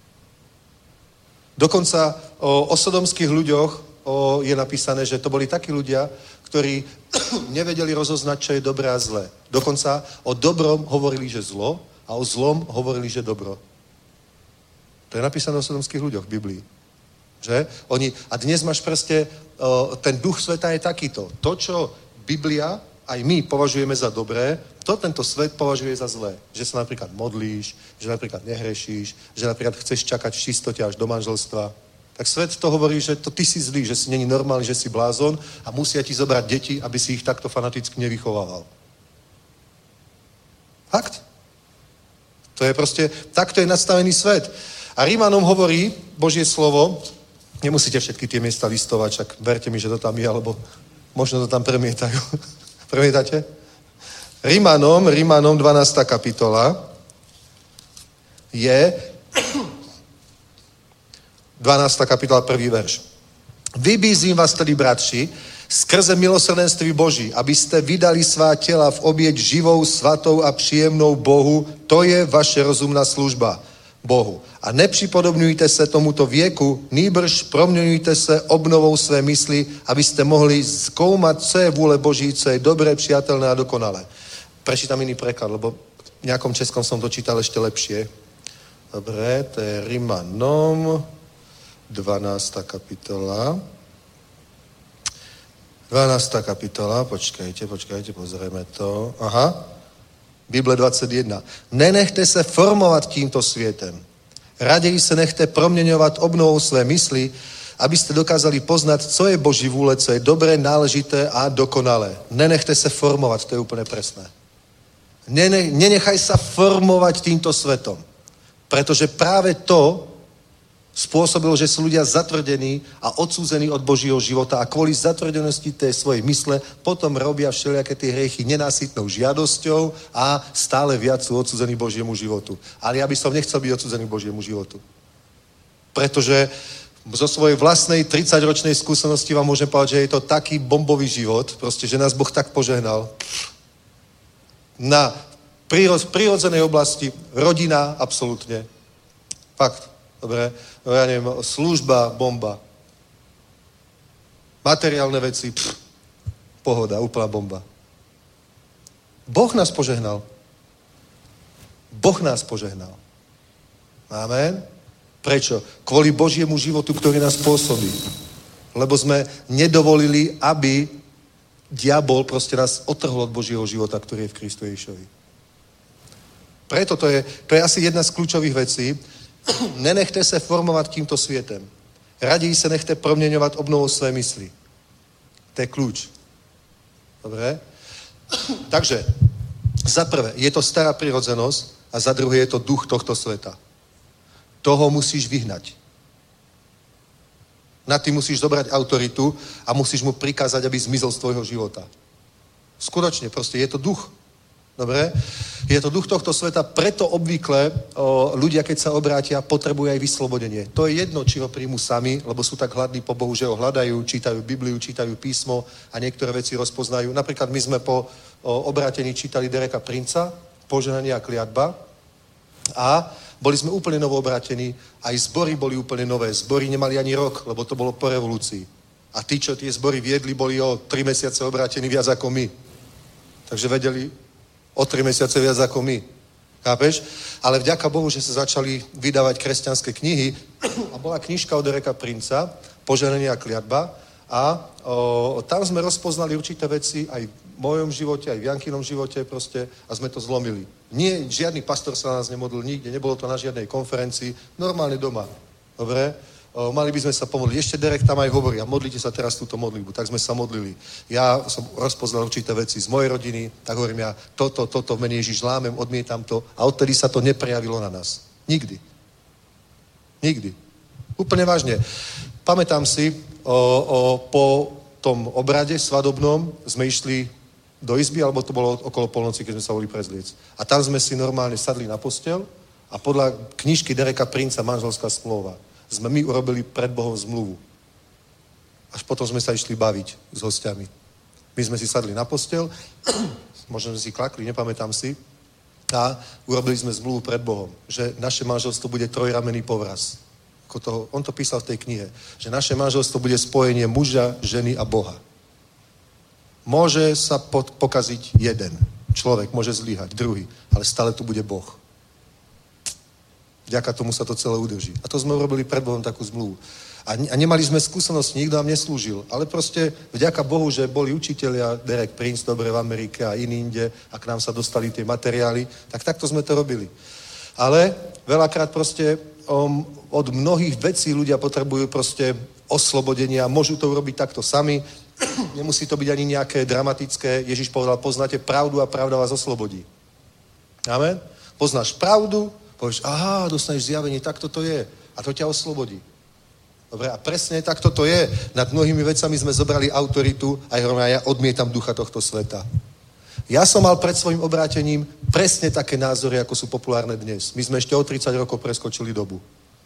Dokonca o sodomských ľuďoch je napísané, že to boli takí ľudia, ktorí nevedeli rozoznať, čo je dobré a zlé. Dokonca o dobrom hovorili, že zlo a o zlom hovorili, že dobro. To je napísané o sodomských ľuďoch v Biblii. Že? A dnes máš proste, ten duch sveta je takýto. To, čo Biblia, aj my považujeme za dobré, to tento svet považuje za zlé. Že sa napríklad modlíš, že napríklad nehrešíš, že napríklad chceš čakať v čistote až do manželstva. Tak svet to hovorí, že to ty si zlý, že si není normálny, že si blázon a musia ti zobrať deti, aby si ich takto fanaticky nevychovával. Fakt. To je proste, takto je nastavený svet. A Rímanom hovorí Božie slovo, nemusíte všetky tie miesta listovať, však verte mi, že to tam je, alebo možno to tam premietajú. Premietate? Rímanom 12. kapitola je 12. kapitola 1. verš. Vybízím vás tedy, bratři, skrze milosrdenství Boží, abyste vydali svá těla v oběť živou, svatou a příjemnou Bohu, to je vaše rozumná služba. Bohu. A nepřipodobňujte se tomuto věku, nýbrž proměňujte se obnovou své mysli, abyste mohli zkoumat, co je vůle Boží, co je dobré, přijatelné a dokonalé. Prečítam iný preklad, lebo v nejakom českom som to čítal ešte lepšie. Dobre, to je Rimanom, 12. kapitola. 12. kapitola, počkajte, pozrieme to. Aha, Bible 21. Nenechte se formovat tímto světem. Raději se nechte proměňovat obnovou své mysli, abyste dokázali poznat, co je Boží vůle, co je dobré, náležité a dokonalé. Nenechte se formovat, to je úplně presné. Nenechaj sa formovať týmto svetom. Pretože práve to spôsobilo, že sú ľudia zatvrdení a odsúzení od Božího života a kvôli zatvrdenosti tej svojej mysle potom robia všelijaké tie hriechy nenásytnou žiadosťou a stále viac sú odsúzení Božiemu životu. Ale ja by som nechcel byť odsúzený Božiemu životu. Pretože zo svojej vlastnej 30-ročnej skúsenosti vám môžem povedať, že je to taký bombový život, proste, že nás Boh tak požehnal. Na prírodzenej oblasti, rodina, absolútne. Fakt, dobre. No ja neviem, služba, bomba. Materiálne veci, pohoda, úplná bomba. Boh nás požehnal. Boh nás požehnal. Amen. Prečo? Kvôli Božiemu životu, ktorý nás pôsobí. Lebo sme nedovolili, aby diabol proste nás otrhol od Božieho života, ktorý je v Kristu Ježišovi. Preto to je asi jedna z kľúčových vecí. Nenechte se formovat tímto světem. Raději se nechte proměňovat obnovou své mysli. To je kľúč. Dobre? Takže, za prvé, je to stará prirodzenosť a za druhé je to duch tohto sveta. Toho musíš vyhnať. Na ty musíš zobrať autoritu a musíš mu prikázať, aby zmizol z tvojho života. Skutočne, proste je to duch. Dobre? Je to duch tohto sveta, preto obvykle ľudia, keď sa obrátia, potrebujú aj vyslobodenie. To je jedno, či ho príjmu sami, lebo sú tak hladní po Bohu, že ho hľadajú, čítajú Bibliu, čítajú písmo a niektoré veci rozpoznajú. Napríklad my sme po obrátení čítali Dereka Princa, Požehnanie a kliatba a boli sme úplne novo obrátení, aj zbory boli úplne nové. Zbory nemali ani rok, lebo to bolo po revolúcii. A tí, čo tie zbory viedli, boli o 3 mesiace obrátení viac ako my. Takže vedeli o 3 mesiace viac ako my. Chápeš? Ale vďaka Bohu, že sa začali vydávať kresťanské knihy a bola knižka od Dereka Princa, Požehnanie a kliatba a tam sme rozpoznali určité veci aj v mojom živote, aj v Jankinom živote proste a sme to zlomili. Nie, žiadny pastor sa na nás nemodlil nikde, nebolo to na žiadnej konferencii, normálne doma. Dobre? Mali by sme sa pomodliť. Ešte Derek tam aj hovorí, a modlite sa teraz túto modlitbu. Tak sme sa modlili. Ja som rozpoznal určité veci z mojej rodiny, tak hovorím ja, toto v mene Ježiš lámem, odmietam to a odtedy sa to neprejavilo na nás. Nikdy. Nikdy. Úplne vážne. Pamätám si, po tom obrade svadobnom sme išli do izby, alebo to bolo okolo polnoci, keď sme sa boli prezliec. A tam sme si normálne sadli na posteľ a podľa knižky Dereka Princa Manželská zmluva sme my urobili pred Bohom zmluvu. Až potom sme sa išli baviť s hostiami. My sme si sadli na posteľ, možno sme si klakli, nepamätám si, a urobili sme zmluvu pred Bohom, že naše manželstvo bude trojramenný povraz. On to písal v tej knihe, že naše manželstvo bude spojenie muža, ženy a Boha. Môže sa pokaziť jeden človek, môže zlyhať, druhý, ale stále tu bude Boh. Vďaka tomu sa to celé udrží. A to sme urobili pred Bohom takú zmluvu. A nemali sme skúsenosť, nikto nám neslúžil. Ale proste vďaka Bohu, že boli učitelia, Derek Prince, dobre v Amerike a iní inde, a k nám sa dostali tie materiály, tak takto sme to robili. Ale veľakrát proste od mnohých vecí ľudia potrebujú proste oslobodenie a môžu to urobiť takto sami. Nemusí to byť ani nejaké dramatické. Ježiš povedal, poznáte pravdu a pravda vás oslobodí. Amen? Poznáš pravdu, povieš, aha, dostaneš zjavenie, takto to je. A to ťa oslobodí. Dobre, a presne takto to je. Nad mnohými vecami sme zobrali autoritu a ja odmietam ducha tohto sveta. Ja som mal pred svojim obrátením presne také názory, ako sú populárne dnes. My sme ešte o 30 rokov preskočili dobu.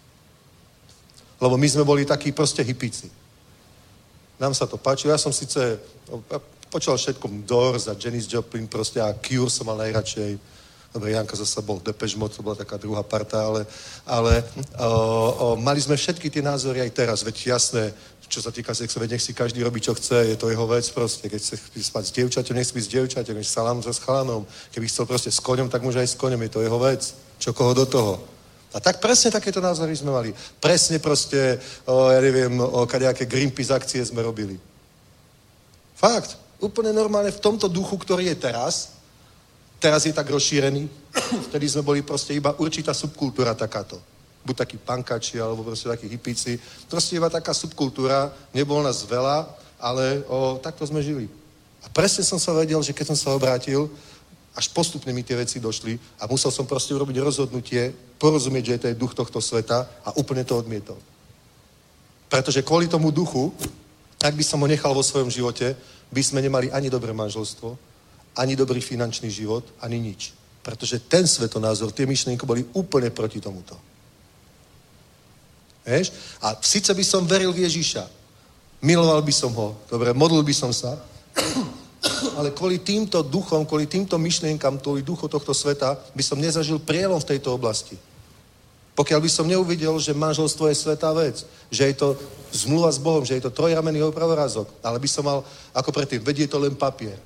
Lebo my sme boli takí proste hippíci. Nám sa to páčilo. Ja som síce počal všetkom Doors a Janis Joplin proste a Cure som mal najradšej. Dobre, Janka zasa bol Depeche Mode, to bola taká druhá parta, ale mali sme všetky tie názory aj teraz, veď jasné, čo sa týka sexu, veď nech si každý robí, čo chce, je to jeho vec proste. Keď chce spať s dievčaťom, nech spí s dievčaťom, keď salám so chalanom. Keby chcel proste s koňom, tak môže aj s koňom, je to jeho vec. Čo koho do toho. A tak presne takéto názory sme mali. Presne proste, ja neviem, kadejaké Greenpeace akcie sme robili. Fakt. Úplne normálne v tomto duchu, ktorý je teraz. Teraz je tak rozšírený. Vtedy sme boli proste iba určitá subkultúra takáto. Buď takí pankači, alebo proste takí hippíci. Proste iba taká subkultúra. Nebolo nás veľa, ale takto sme žili. A presne som sa vedel, že keď som sa obrátil, až postupne mi tie veci došli a musel som proste urobiť rozhodnutie, porozumieť, že to je duch tohto sveta a úplne to odmietol. Pretože kvôli tomu duchu, ak by som ho nechal vo svojom živote, by sme nemali ani dobré manželstvo, ani dobrý finančný život, ani nič. Pretože ten svetonázor, tie myšlienky boli úplne proti tomuto. Vieš? A síce by som veril v Ježiša, miloval by som ho, dobre, modlil by som sa, ale kvôli týmto duchom, kvôli týmto myšlienkam, kvôli duchu tohto sveta, by som nezažil prielom v tejto oblasti. Pokiaľ by som neuvidel, že manželstvo je svätá vec, že je to zmluva s Bohom, že je to trojramenný pravorázok, ale by som mal, ako predtým, vedie to len papier.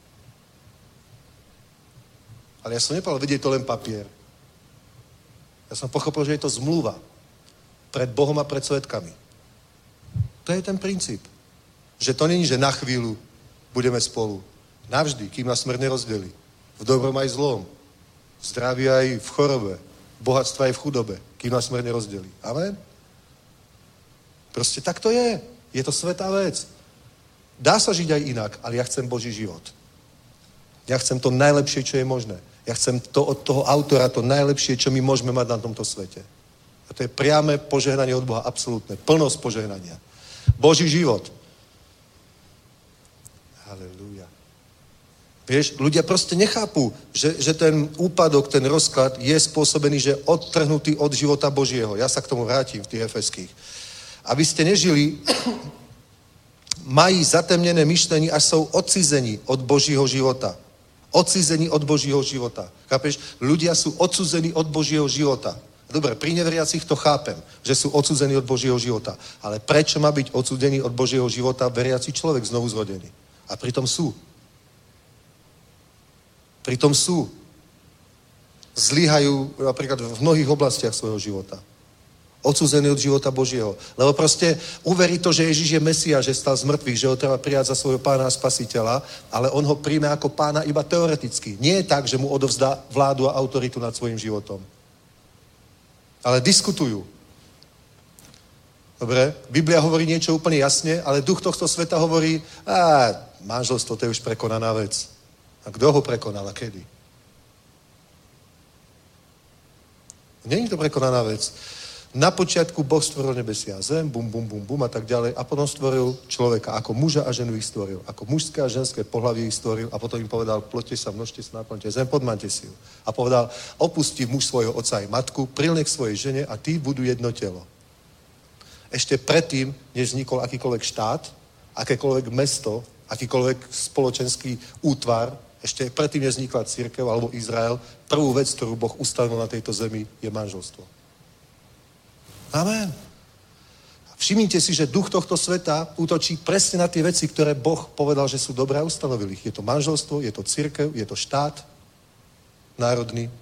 Ale ja som nepovedal, vedie to len papier. Ja som pochopil, že je to zmluva pred Bohom a pred svedkami. To je ten princíp. Že to není, že na chvíľu budeme spolu. Navždy, kým nás smrť nerozdelí. V dobrom aj zlom. V zdraví aj v chorobe. V bohatstve aj v chudobe. Kým nás smrť nerozdelí. Amen? Proste tak to je. Je to svätá vec. Dá sa žiť aj inak, ale ja chcem Boží život. Ja chcem to najlepšie, čo je možné. Ja chcem to od toho autora, to najlepšie, čo my môžeme mať na tomto svete. A to je priame požehnanie od Boha. Absolútne. Plnosť požehnania. Boží život. Halelúja. Vieš, ľudia proste nechápu, že ten úpadok, ten rozklad je spôsobený, že odtrhnutý od života Božieho. Ja sa k tomu vrátim v tých Efeských. Aby ste nežili, mají zatemnené myšlení a jsou odcizení od Božího života. Odcizení od Božího života. Chápeš? Ľudia sú odsúzení od Božího života. Dobre, pri neveriacich to chápem, že sú odsúzení od Božieho života. Ale prečo má byť odsúdený od Božieho života veriaci človek znovu zrodený? A pritom sú. Pritom sú. Zlyhajú napríklad v mnohých oblastiach svojho života. Odsúzený od života Božieho. Lebo proste uverí to, že Ježiš je Mesia, že stal z mŕtvych, že ho treba prijať za svojho pána a spasiteľa, ale on ho príjme ako pána iba teoreticky. Nie je tak, že mu odovzdá vládu a autoritu nad svojím životom. Ale diskutujú. Dobre? Biblia hovorí niečo úplne jasne, ale duch tohto sveta hovorí, manželstvo to je už prekonaná vec. A kto ho prekonal a kedy? Nie je to prekonaná vec. Na počiatku Boh stvoril nebesia a zem, bum, bum, bum, bum a tak ďalej a potom stvoril človeka, ako muža a ženu ich stvoril, ako mužské a ženské pohlavie ich stvoril a potom im povedal, ploďte sa, množte sa, naplňte zem, podmante si ju. A povedal, opustí muž svojho otca i matku, prilne k svojej žene a tí budú jedno telo. Ešte predtým, než vznikol akýkoľvek štát, akékoľvek mesto, akýkoľvek spoločenský útvar, ešte predtým, než vznikla cirkev alebo Izrael, prvú vec, ktorú Boh ustavil na tejto zemi, je manželstvo. Amen. Všimnite si, že duch tohto sveta útočí presne na tie veci, ktoré Boh povedal, že sú dobré a ustanovil ich. Je to manželstvo, je to cirkev, je to štát národný.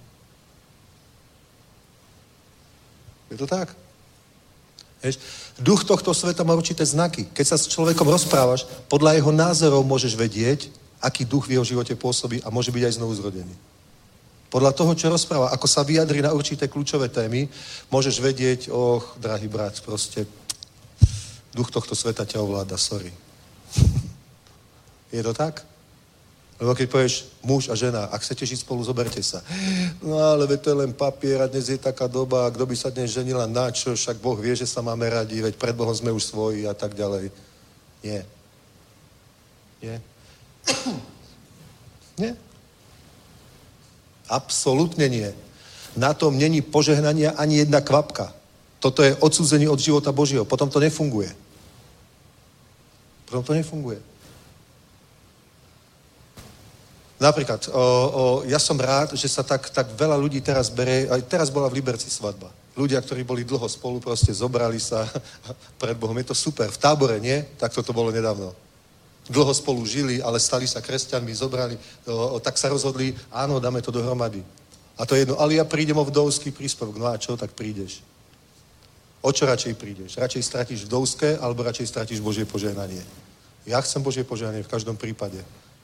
Je to tak? Vieš? Duch tohto sveta má určité znaky. Keď sa s človekom rozprávaš, podľa jeho názorov môžeš vedieť, aký duch v jeho živote pôsobí a môže byť aj znovu zrodený. Podľa toho, čo rozpráva, ako sa vyjadri na určité kľúčové témy, môžeš vedieť, drahý brat, proste duch tohto sveta ťa ovláda, sorry. Je to tak? Lebo keď povieš muž a žena, ak chcete žiť spolu, zoberte sa. No ale to je len papier a dnes je taká doba, kto by sa dnes ženila na čo, však Boh vie, že sa máme radi, veď pred Bohom sme už svoji a tak ďalej. Nie. Nie. Nie. Absolútne nie. Na tom není požehnania ani jedna kvapka. Toto je odsúzenie od života Božieho. Potom to nefunguje. Potom to nefunguje. Napríklad, ja som rád, že sa tak veľa ľudí teraz berie, aj teraz bola v Liberci svadba. Ľudia, ktorí boli dlho spolu, proste zobrali sa pred Bohom. Je to super. V Tábore, nie? Tak to bolo nedávno. Dlho spolu žili, ale stali sa kresťanmi, zobrali, tak sa rozhodli, áno, dáme to dohromady. A to je jedno, ale ja prídem o vdovský príspevok. No a čo, tak prídeš. O čo radšej prídeš? Radšej stratíš vdovské, alebo radšej stratíš Božie požehnanie? Ja chcem Božie požehnanie v každom prípade.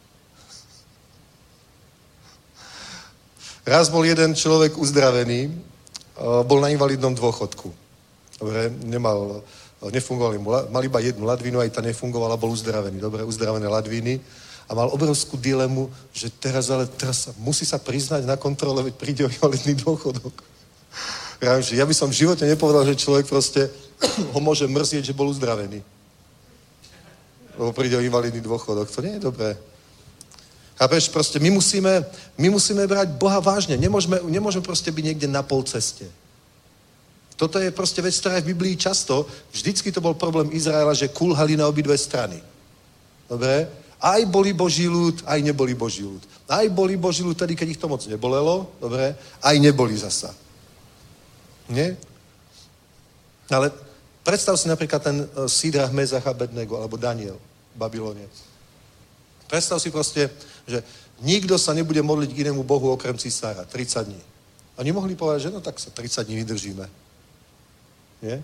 Raz bol jeden človek uzdravený, bol na invalidnom dôchodku. Dobre, nefungovali mu, mal iba jednu ladvinu, aj tá nefungovala, bol uzdravený. Dobre, uzdravené ladviny. A mal obrovskú dilemu, že teraz musí sa priznať na kontrole, veď príde o invalidný dôchodok. Ja by som v živote nepovedal, že človek proste ho môže mrzieť, že bol uzdravený. Lebo príde o invalidný dôchodok. To nie je dobré. Chápeš, proste my musíme brať Boha vážne. Nemôžeme proste byť niekde na pol ceste. Toto je proste vec, ktorá je v Biblii často. Vždycky to bol problém Izraela, že kulhali na obidve strany. Dobre? Aj boli Boží ľud, aj neboli Boží ľud. Aj boli Boží ľud tedy, keď ich to moc nebolelo. Dobre? Aj neboli zasa. Nie? Ale predstav si napríklad ten Sídrach, Mezach a Abednego, alebo Daniel v Babylone. Predstav si proste, že nikto sa nebude modliť k inému Bohu okrem cisára 30 dní. Oni mohli povedať, že no tak sa 30 dní vydržíme. Nie?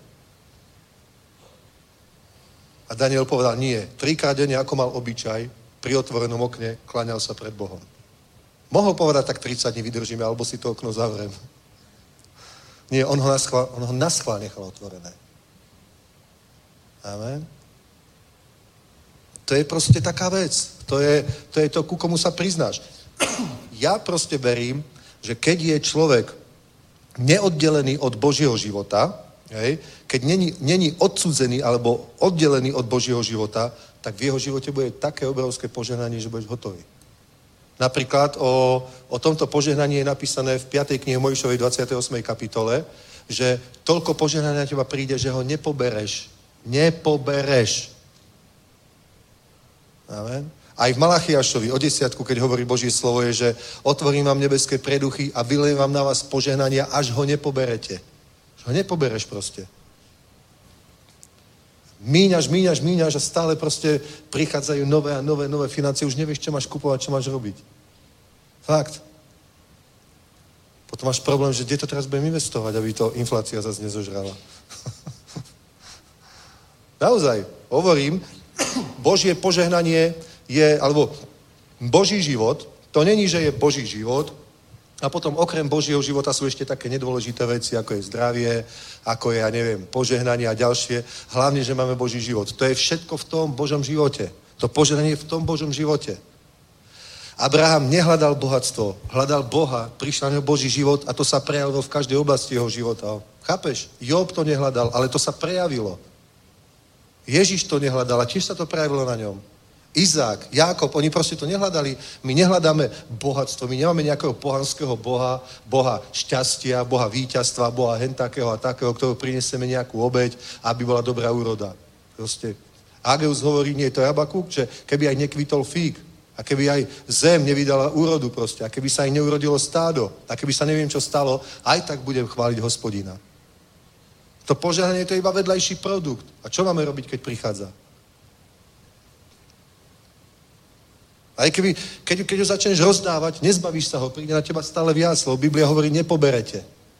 A Daniel povedal, nie. 3-krát denne, ako mal obyčaj, pri otvorenom okne kláňal sa pred Bohom. Mohol povedať, tak 30 dní vydržíme, alebo si to okno zavriem. Nie, on ho naschvál nechal otvorené. Amen. To je proste taká vec. To je to, ku komu sa priznáš. Ja proste verím, že keď je človek neoddelený od Božieho života, hej, keď není odsudzený alebo oddelený od Božieho života, tak v jeho živote bude také obrovské požehnanie, že budeš hotový. Napríklad o tomto požehnaní je napísané v 5. knihe Mojžišovej 28. kapitole, že toľko požehnania na teba príde, že ho nepobereš. Nepobereš. Amen. Aj v Malachiašovi o 10, keď hovorí Božie slovo, je, že otvorím vám nebeské preduchy a vylejem vám na vás požehnania, až ho nepoberete. Až ho nepobereš proste. Míňaš a stále proste prichádzajú nové a nové financie. Už nevieš, čo máš kupovať, čo máš robiť. Fakt. Potom máš problém, že kde to teraz budem investovať, aby to inflácia zase nezožrala. Naozaj, hovorím, Božie požehnanie je, alebo Boží život, to není, že je Boží život, a potom okrem Božieho života sú ešte také nedôležité veci, ako je zdravie, ako je, ja neviem, požehnanie a ďalšie. Hlavne, že máme Boží život. To je všetko v tom Božom živote. To požehnanie je v tom Božom živote. Abraham nehľadal bohatstvo, hľadal Boha, prišiel na neho Boží život a to sa prejavilo v každej oblasti jeho života. Chápeš? Job to nehľadal, ale to sa prejavilo. Ježiš to nehľadal a tiež sa to prejavilo na ňom. Izák, Jákob, oni proste to nehľadali. My nehľadáme bohatstvo, my nemáme nejakého pohanského boha, boha šťastia, boha víťazstva, boha hentakého a takého, ktorého prinesieme nejakú obeť, aby bola dobrá úroda. Proste. Ageus hovorí, nie je to Habakuk, že keby aj nekvitol fík, a keby aj zem nevydala úrodu proste, a keby sa aj neurodilo stádo, a keby sa neviem, čo stalo, aj tak budem chváliť Hospodina. To požehnanie to je iba vedľajší produkt. A čo máme robiť, keď prichádza? Aj keď ho začneš rozdávať, nezbavíš sa ho, príde na teba stále viac, lebo Biblia hovorí, nepoberete.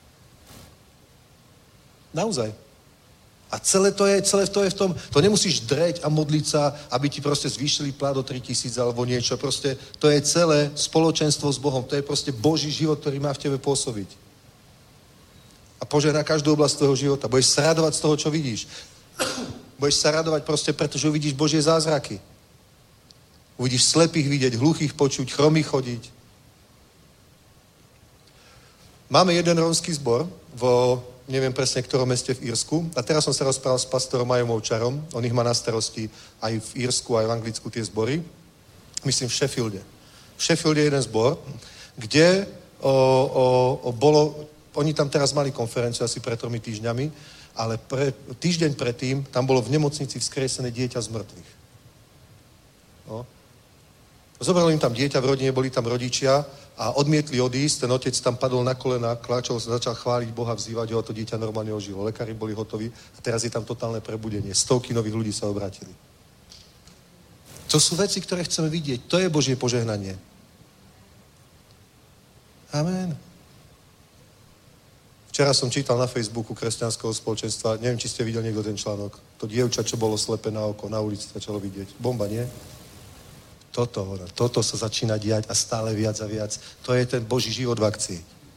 Naozaj. A celé to je v tom, to nemusíš dreť a modliť sa, aby ti proste zvýšili plat o 3000 alebo niečo. Proste to je celé spoločenstvo s Bohom. To je proste Boží život, ktorý má v tebe pôsobiť. A požehná každú oblasť tvojho života. Budeš sa radovať z toho, čo vidíš. Budeš sa radovať proste, pretože uvidíš Božie zázraky. Uvidíš slepých vidieť, hluchých počuť, chromých chodiť. Máme jeden rómsky zbor neviem presne, v ktorom meste v Írsku. A teraz som sa rozprával s pastorom Majom Ovčarom. On ich má na starosti aj v Írsku, aj v Anglicku tie zbory. Myslím v Sheffielde. V Sheffielde je jeden zbor, kde oni tam teraz mali konferenciu asi pred 3 týždňami, ale týždeň predtým tam bolo v nemocnici vzkriesené dieťa z mŕtvych. No. Zobralo im tam dieťa v rodine, boli tam rodičia a odmietli odísť, ten otec tam padol na kolena, kláčol sa, začal chváliť Boha, vzývať ho a to dieťa normálne ožilo. Lekári boli hotoví a teraz je tam totálne prebudenie. Stovky nových ľudí sa obrátili. To sú veci, ktoré chceme vidieť. To je Božie požehnanie. Amen. Včera som čítal na Facebooku kresťanského spoločenstva, neviem, či ste videli niekto ten článok. To dievča, čo bolo slepé na oko, na ulici začalo vidieť. Bomba, nie? Toto sa začína diať a stále viac a viac. To je ten Boží život v akcii.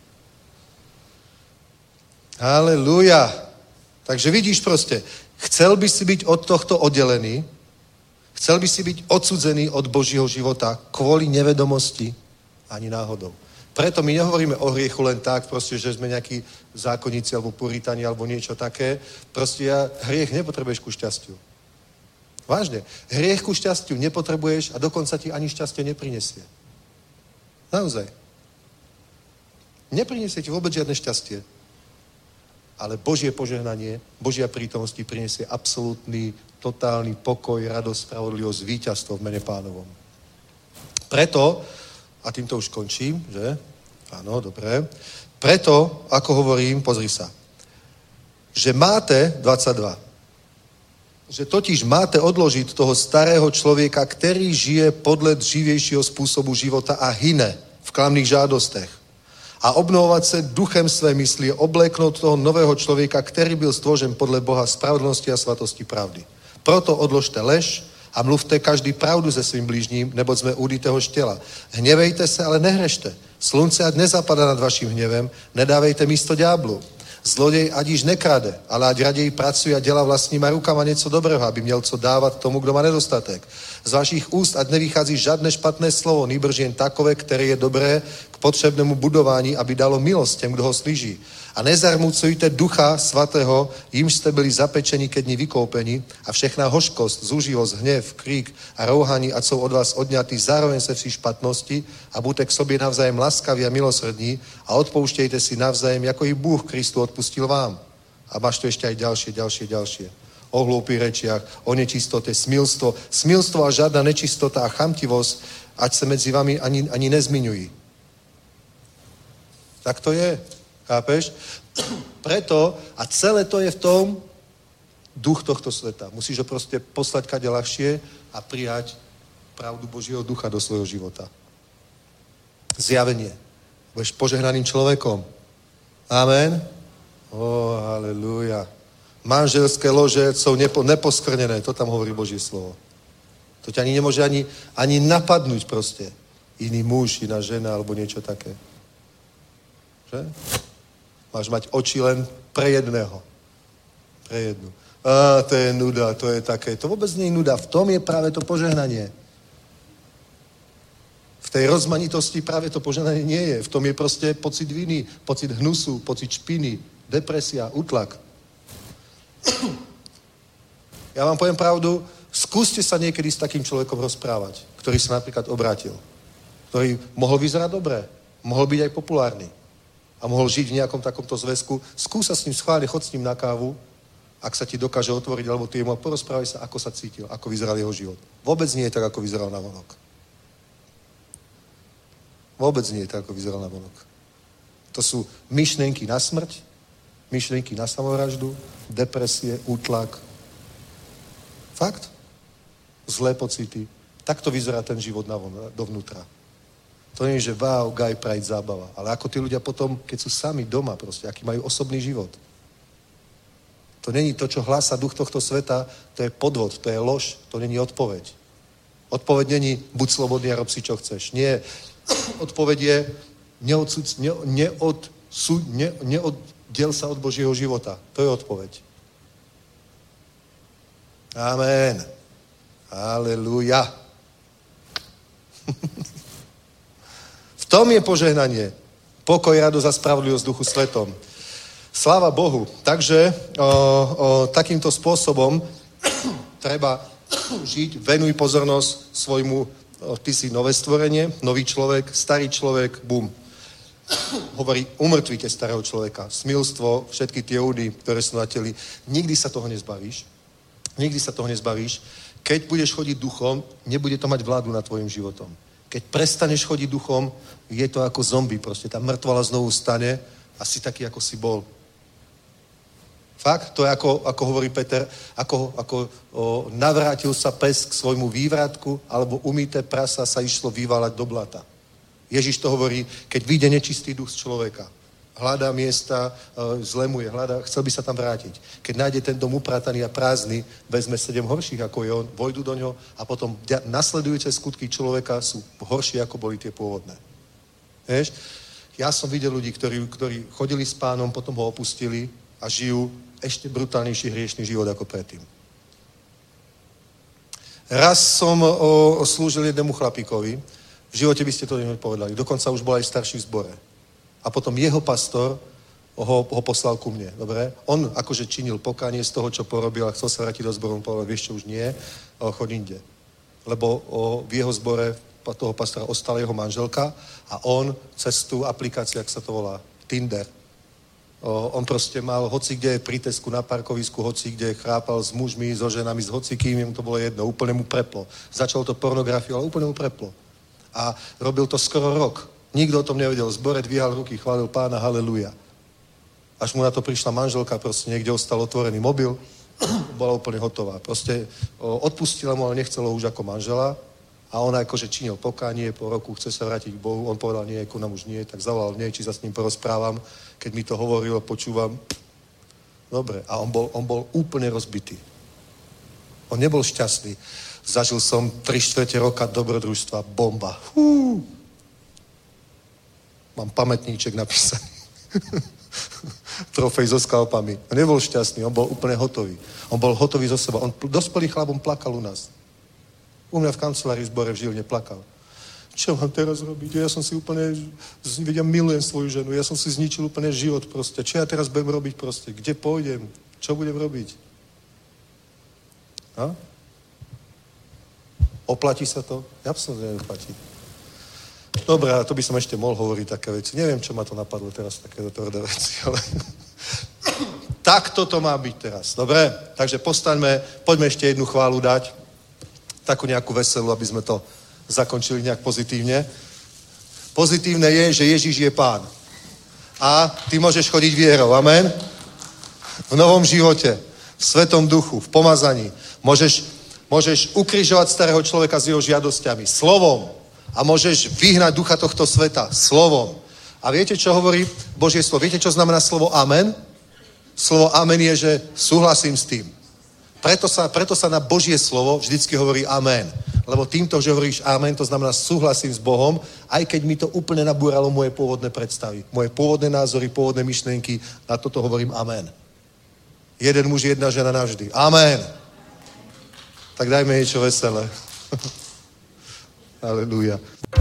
Halelúja. Takže vidíš proste, chcel by si byť od tohto oddelený, chcel by si byť odsudzený od Božího života kvôli nevedomosti ani náhodou. Preto my nehovoríme o hriechu len tak, proste, že sme nejakí zákonníci alebo puritáni alebo niečo také. Proste hriech nepotrebuješ ku šťastiu. Vážne. Hriech ku šťastiu nepotrebuješ a dokonca ti ani šťastie neprinesie. Naozaj. Neprinesie ti vôbec žiadne šťastie. Ale Božie požehnanie, Božia prítomnosť ti prinesie absolútny, totálny pokoj, radosť, spravodlivosť, víťazstvo v mene Pánovom. Preto, a týmto už končím, že? Áno, dobre. Preto, ako hovorím, pozri sa, že máte 22, že totiž máte odložiť toho starého člověka, který žije podle dřívějšího způsobu života a hyne v klamných žádostech. A obnovovat se duchem své mysli, obléknout toho nového člověka, který byl stvořen podle Boha spravedlnosti a svatosti pravdy. Proto odložte lež a mluvte každý pravdu se svým blížním, neboť jsme údy téhož těla. Hněvejte se, ale nehrešte. Slunce ať nezapadá nad vaším hněvem, nedávejte místo ďáblu. Zloděj ať již nekrade, ale ať raději pracuje a dělá vlastníma rukama něco dobrého, aby měl co dávat tomu, kdo má nedostatek. Z vašich úst ať nevychází žádné špatné slovo, nýbrž jen takové, které je dobré k potřebnému budování, aby dalo milost těm, kdo ho slyší. A nezarmucujte ducha svatého, jimž jste byli zapečeni ke dni vykoupeni, a všechna hořkost, zúživost, hněv, krík a rouhání, ať jsou od vás odňatý zároveň se vší špatnosti, a buďte k sobě navzájem laskaví a milosrdní a odpouštějte si navzájem, jako i Bůh Kristu odpustil vám. A máš to ještě aj ďalšie. O hloupých rečiach, o nečistote, smilstvo a žádná nečistota a chamtivosť, ať se mezi vami ani nezmiňují. Tak to je. Chápeš? Preto, a celé to je v tom duch tohto sveta. Musíš ho proste poslať kade ľahšie a prijať pravdu Božieho ducha do svojho života. Zjavenie. Budeš požehnaným človekom. Amen? Halelúja. Manželské lože sú neposkvrnené. To tam hovorí Božie slovo. To ťa ani nemôže ani napadnúť proste. Iný muž, iná žena alebo niečo také. Že? Máš mať oči len pre jedného. Pre jednu. To je nuda, to je také. To vôbec nie je nuda. V tom je práve to požehnanie. V tej rozmanitosti práve to požehnanie nie je. V tom je proste pocit viny, pocit hnusu, pocit špiny, depresia, útlak. Ja vám poviem pravdu, skúste sa niekedy s takým človekom rozprávať, ktorý sa napríklad obrátil. Ktorý mohol vyzerať dobre, mohol byť aj populárny. A mohol žiť v nejakom takomto zväzku, skúsa s ním schválne, chod s ním na kávu, ak sa ti dokáže otvoriť, alebo ty jemu a porozprávaj sa, ako sa cítil, ako vyzeral jeho život. Vôbec nie je tak, ako vyzeral navonok. Vôbec nie je tak, ako vyzeral navonok. To sú myšlienky na smrť, myšlienky na samovraždu, depresie, útlak. Fakt? Zlé pocity. Takto vyzerá ten život dovnútra. To nie je, že wow, guy pride, zábava. Ale ako tí ľudia potom, keď sú sami doma proste, aký majú osobný život. To není to, čo hlása duch tohto sveta, to je podvod, to je lož, to není odpoveď. Odpoveď není buď slobodný a rob si, čo chceš. Nie. Odpoveď je neoddiel sa od Božieho života. To je odpoveď. Amen. Halelúja. V tom je požehnanie. Pokoj, radosť a spravodlivosť Duchu Svetom. Sláva Bohu. Takže takýmto spôsobom treba žiť. Venuj pozornosť svojmu, ty si nové stvorenie, nový človek, starý človek, bum. Hovorí, umrtvíte starého človeka. Smilstvo, všetky tie údy, ktoré sú na teli. Nikdy sa toho nezbavíš. Nikdy sa toho nezbavíš. Keď budeš chodiť duchom, nebude to mať vládu nad tvojim životom. Keď prestaneš chodiť duchom, je to ako zombie, proste tá mŕtvala znovu stane a si taký, ako si bol. Fakt, to je ako hovorí Peter, ako navrátil sa pes k svojmu vývratku, alebo umyté prasa sa išlo vyvalať do blata. Ježiš to hovorí, keď vyjde nečistý duch z človeka. Hľadá miesta, zlemuje, chcel by sa tam vrátiť. Keď nájde ten dom uprataný a prázdny, vezme 7 horších, ako je on, vojdu do ňoho a potom nasledujúce skutky človeka sú horšie, ako boli tie pôvodné. Vieš? Ja som videl ľudí, ktorí chodili s Pánom, potom ho opustili a žijú ešte brutálnejší hriešný život ako predtým. Raz som slúžil jednému chlapíkovi, v živote by ste to nepovedali, dokonca už bol aj starší v zbore. A potom jeho pastor ho poslal ku mne, dobre? On akože činil pokánie z toho, čo porobil a chcel sa vrátiť do zboru, on povedal, vieš čo, už nie, choď inde. Lebo v jeho zbore toho pastora ostala jeho manželka a on cez tú aplikáciu, jak sa to volá, Tinder, on proste mal hoci kde pri Tesku na parkovisku, hoci kde chrápal s mužmi, so ženami, s hocikým, jemu to bolo jedno, úplne mu preplo. Začalo to pornografiu, ale úplne mu preplo. A robil to skoro rok. Nikto o tom nevedel. Zbore dvíhal ruky, chválil Pána, haleluja. Až mu na to prišla manželka, proste niekde ostal otvorený mobil, bola úplne hotová. Proste odpustila mu, ale nechcelo už ako manžela a on akože činil pokánie, po roku chce sa vrátiť k Bohu. On povedal, nie, ku nám už nie, tak zavolal mne, či sa s ním porozprávam. Keď mi to hovoril, počúvam. Dobre. A on bol úplne rozbitý. On nebol šťastný. Zažil som 3/4 roka dobrodružstva, bomba. Mám pamätníček napísaný. Trofej so skalpami. On nebol šťastný, on bol úplne hotový. On bol hotový zo seba. On dospelý chlapom plakal u nás. U mňa v kancelárii v zbore v Žiline plakal. Čo mám teraz robiť? Ja som si úplne, milujem svoju ženu, ja som si zničil úplne život proste. Čo ja teraz budem robiť proste? Kde pôjdem? Čo budem robiť? A? Oplatí sa to? Absolutne neoplatí. Dobre, to by som ešte mohol hovoriť také veci. Neviem, čo ma to napadlo teraz, takéto tvrdé veci, ale takto to má byť teraz, dobre? Takže postaňme, poďme ešte jednu chválu dať, takú nejakú veselú, aby sme to zakončili nejak pozitívne. Pozitívne je, že Ježiš je Pán. A ty môžeš chodiť vierou, amen? V novom živote, v Svetom duchu, v pomazaní. Môžeš ukrižovať starého človeka s jeho žiadosťami, slovom. A môžeš vyhnať ducha tohto sveta slovom. A viete, čo hovorí Božie slovo? Viete, čo znamená slovo amen? Slovo amen je, že súhlasím s tým. Preto sa na Božie slovo vždycky hovorí amen. Lebo týmto, že hovoríš amen, to znamená súhlasím s Bohom, aj keď mi to úplne nabúralo moje pôvodné predstavy. Moje pôvodné názory, pôvodné myšlienky, na toto hovorím amen. Jeden muž, jedna žena navždy. Amen. Tak dajme niečo veselé. Halleluja.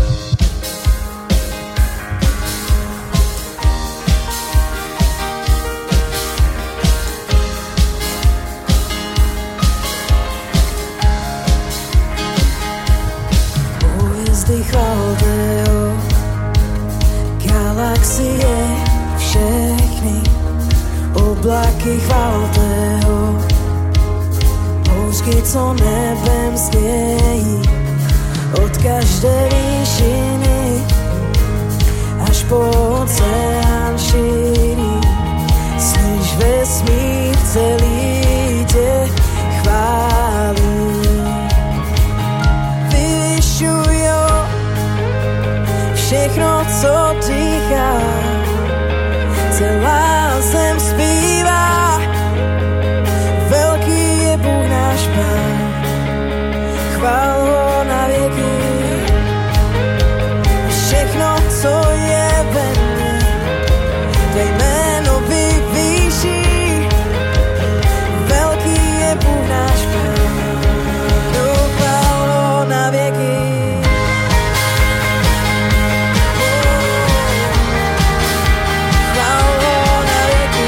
Hviezdy chválte ho, galaxie všechny, oblaky chválte ho, houšky, co nebem stějí, od každé výšiny až po oceán šíří. Slyš vesmír celý tě chválí. Vyvyšujo všechno, co dýchá, celá zem zpívá. Velký je Bůh náš Pán, chvál ho na věky. Všechno, co je ve mně, tvé jméno vyvýší. Velký je Bůh náš Pán, chvál ho na věky. Chvál ho na věky.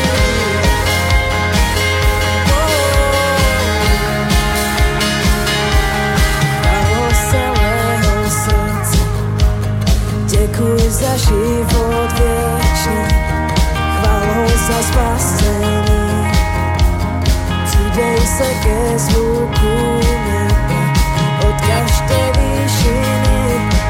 Děkuji za život věčný, chválou za spasení. Přidej se ke zvuku nebe, od každé výšiny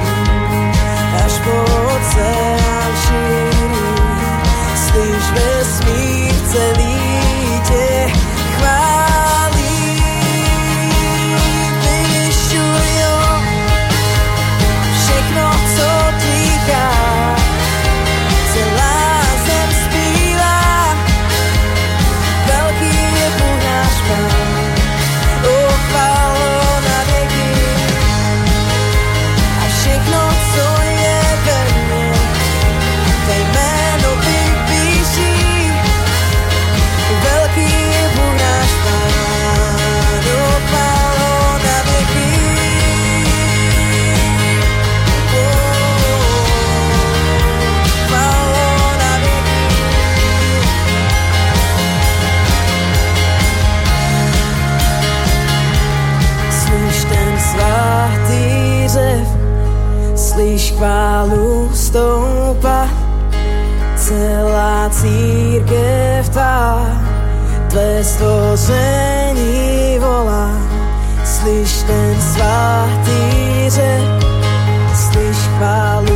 jako oceán šíří. Slyš vesmír celý tě chválí. Vyvyšuj ho, všechno, co dýchá, celá zem zpívá. Velký je Bůh náš Pán, o chválo na věky. A všechno, co je ve mně, tvé jméno vypíší. Velký je Bůh náš Pán, o chválo na věky. Chválo na věky. Slyš ten svatý řev, slyš chválu stoupat, celá církev tvá, tvé stvoření volá. Slyš ten svatý řev, slyš chválu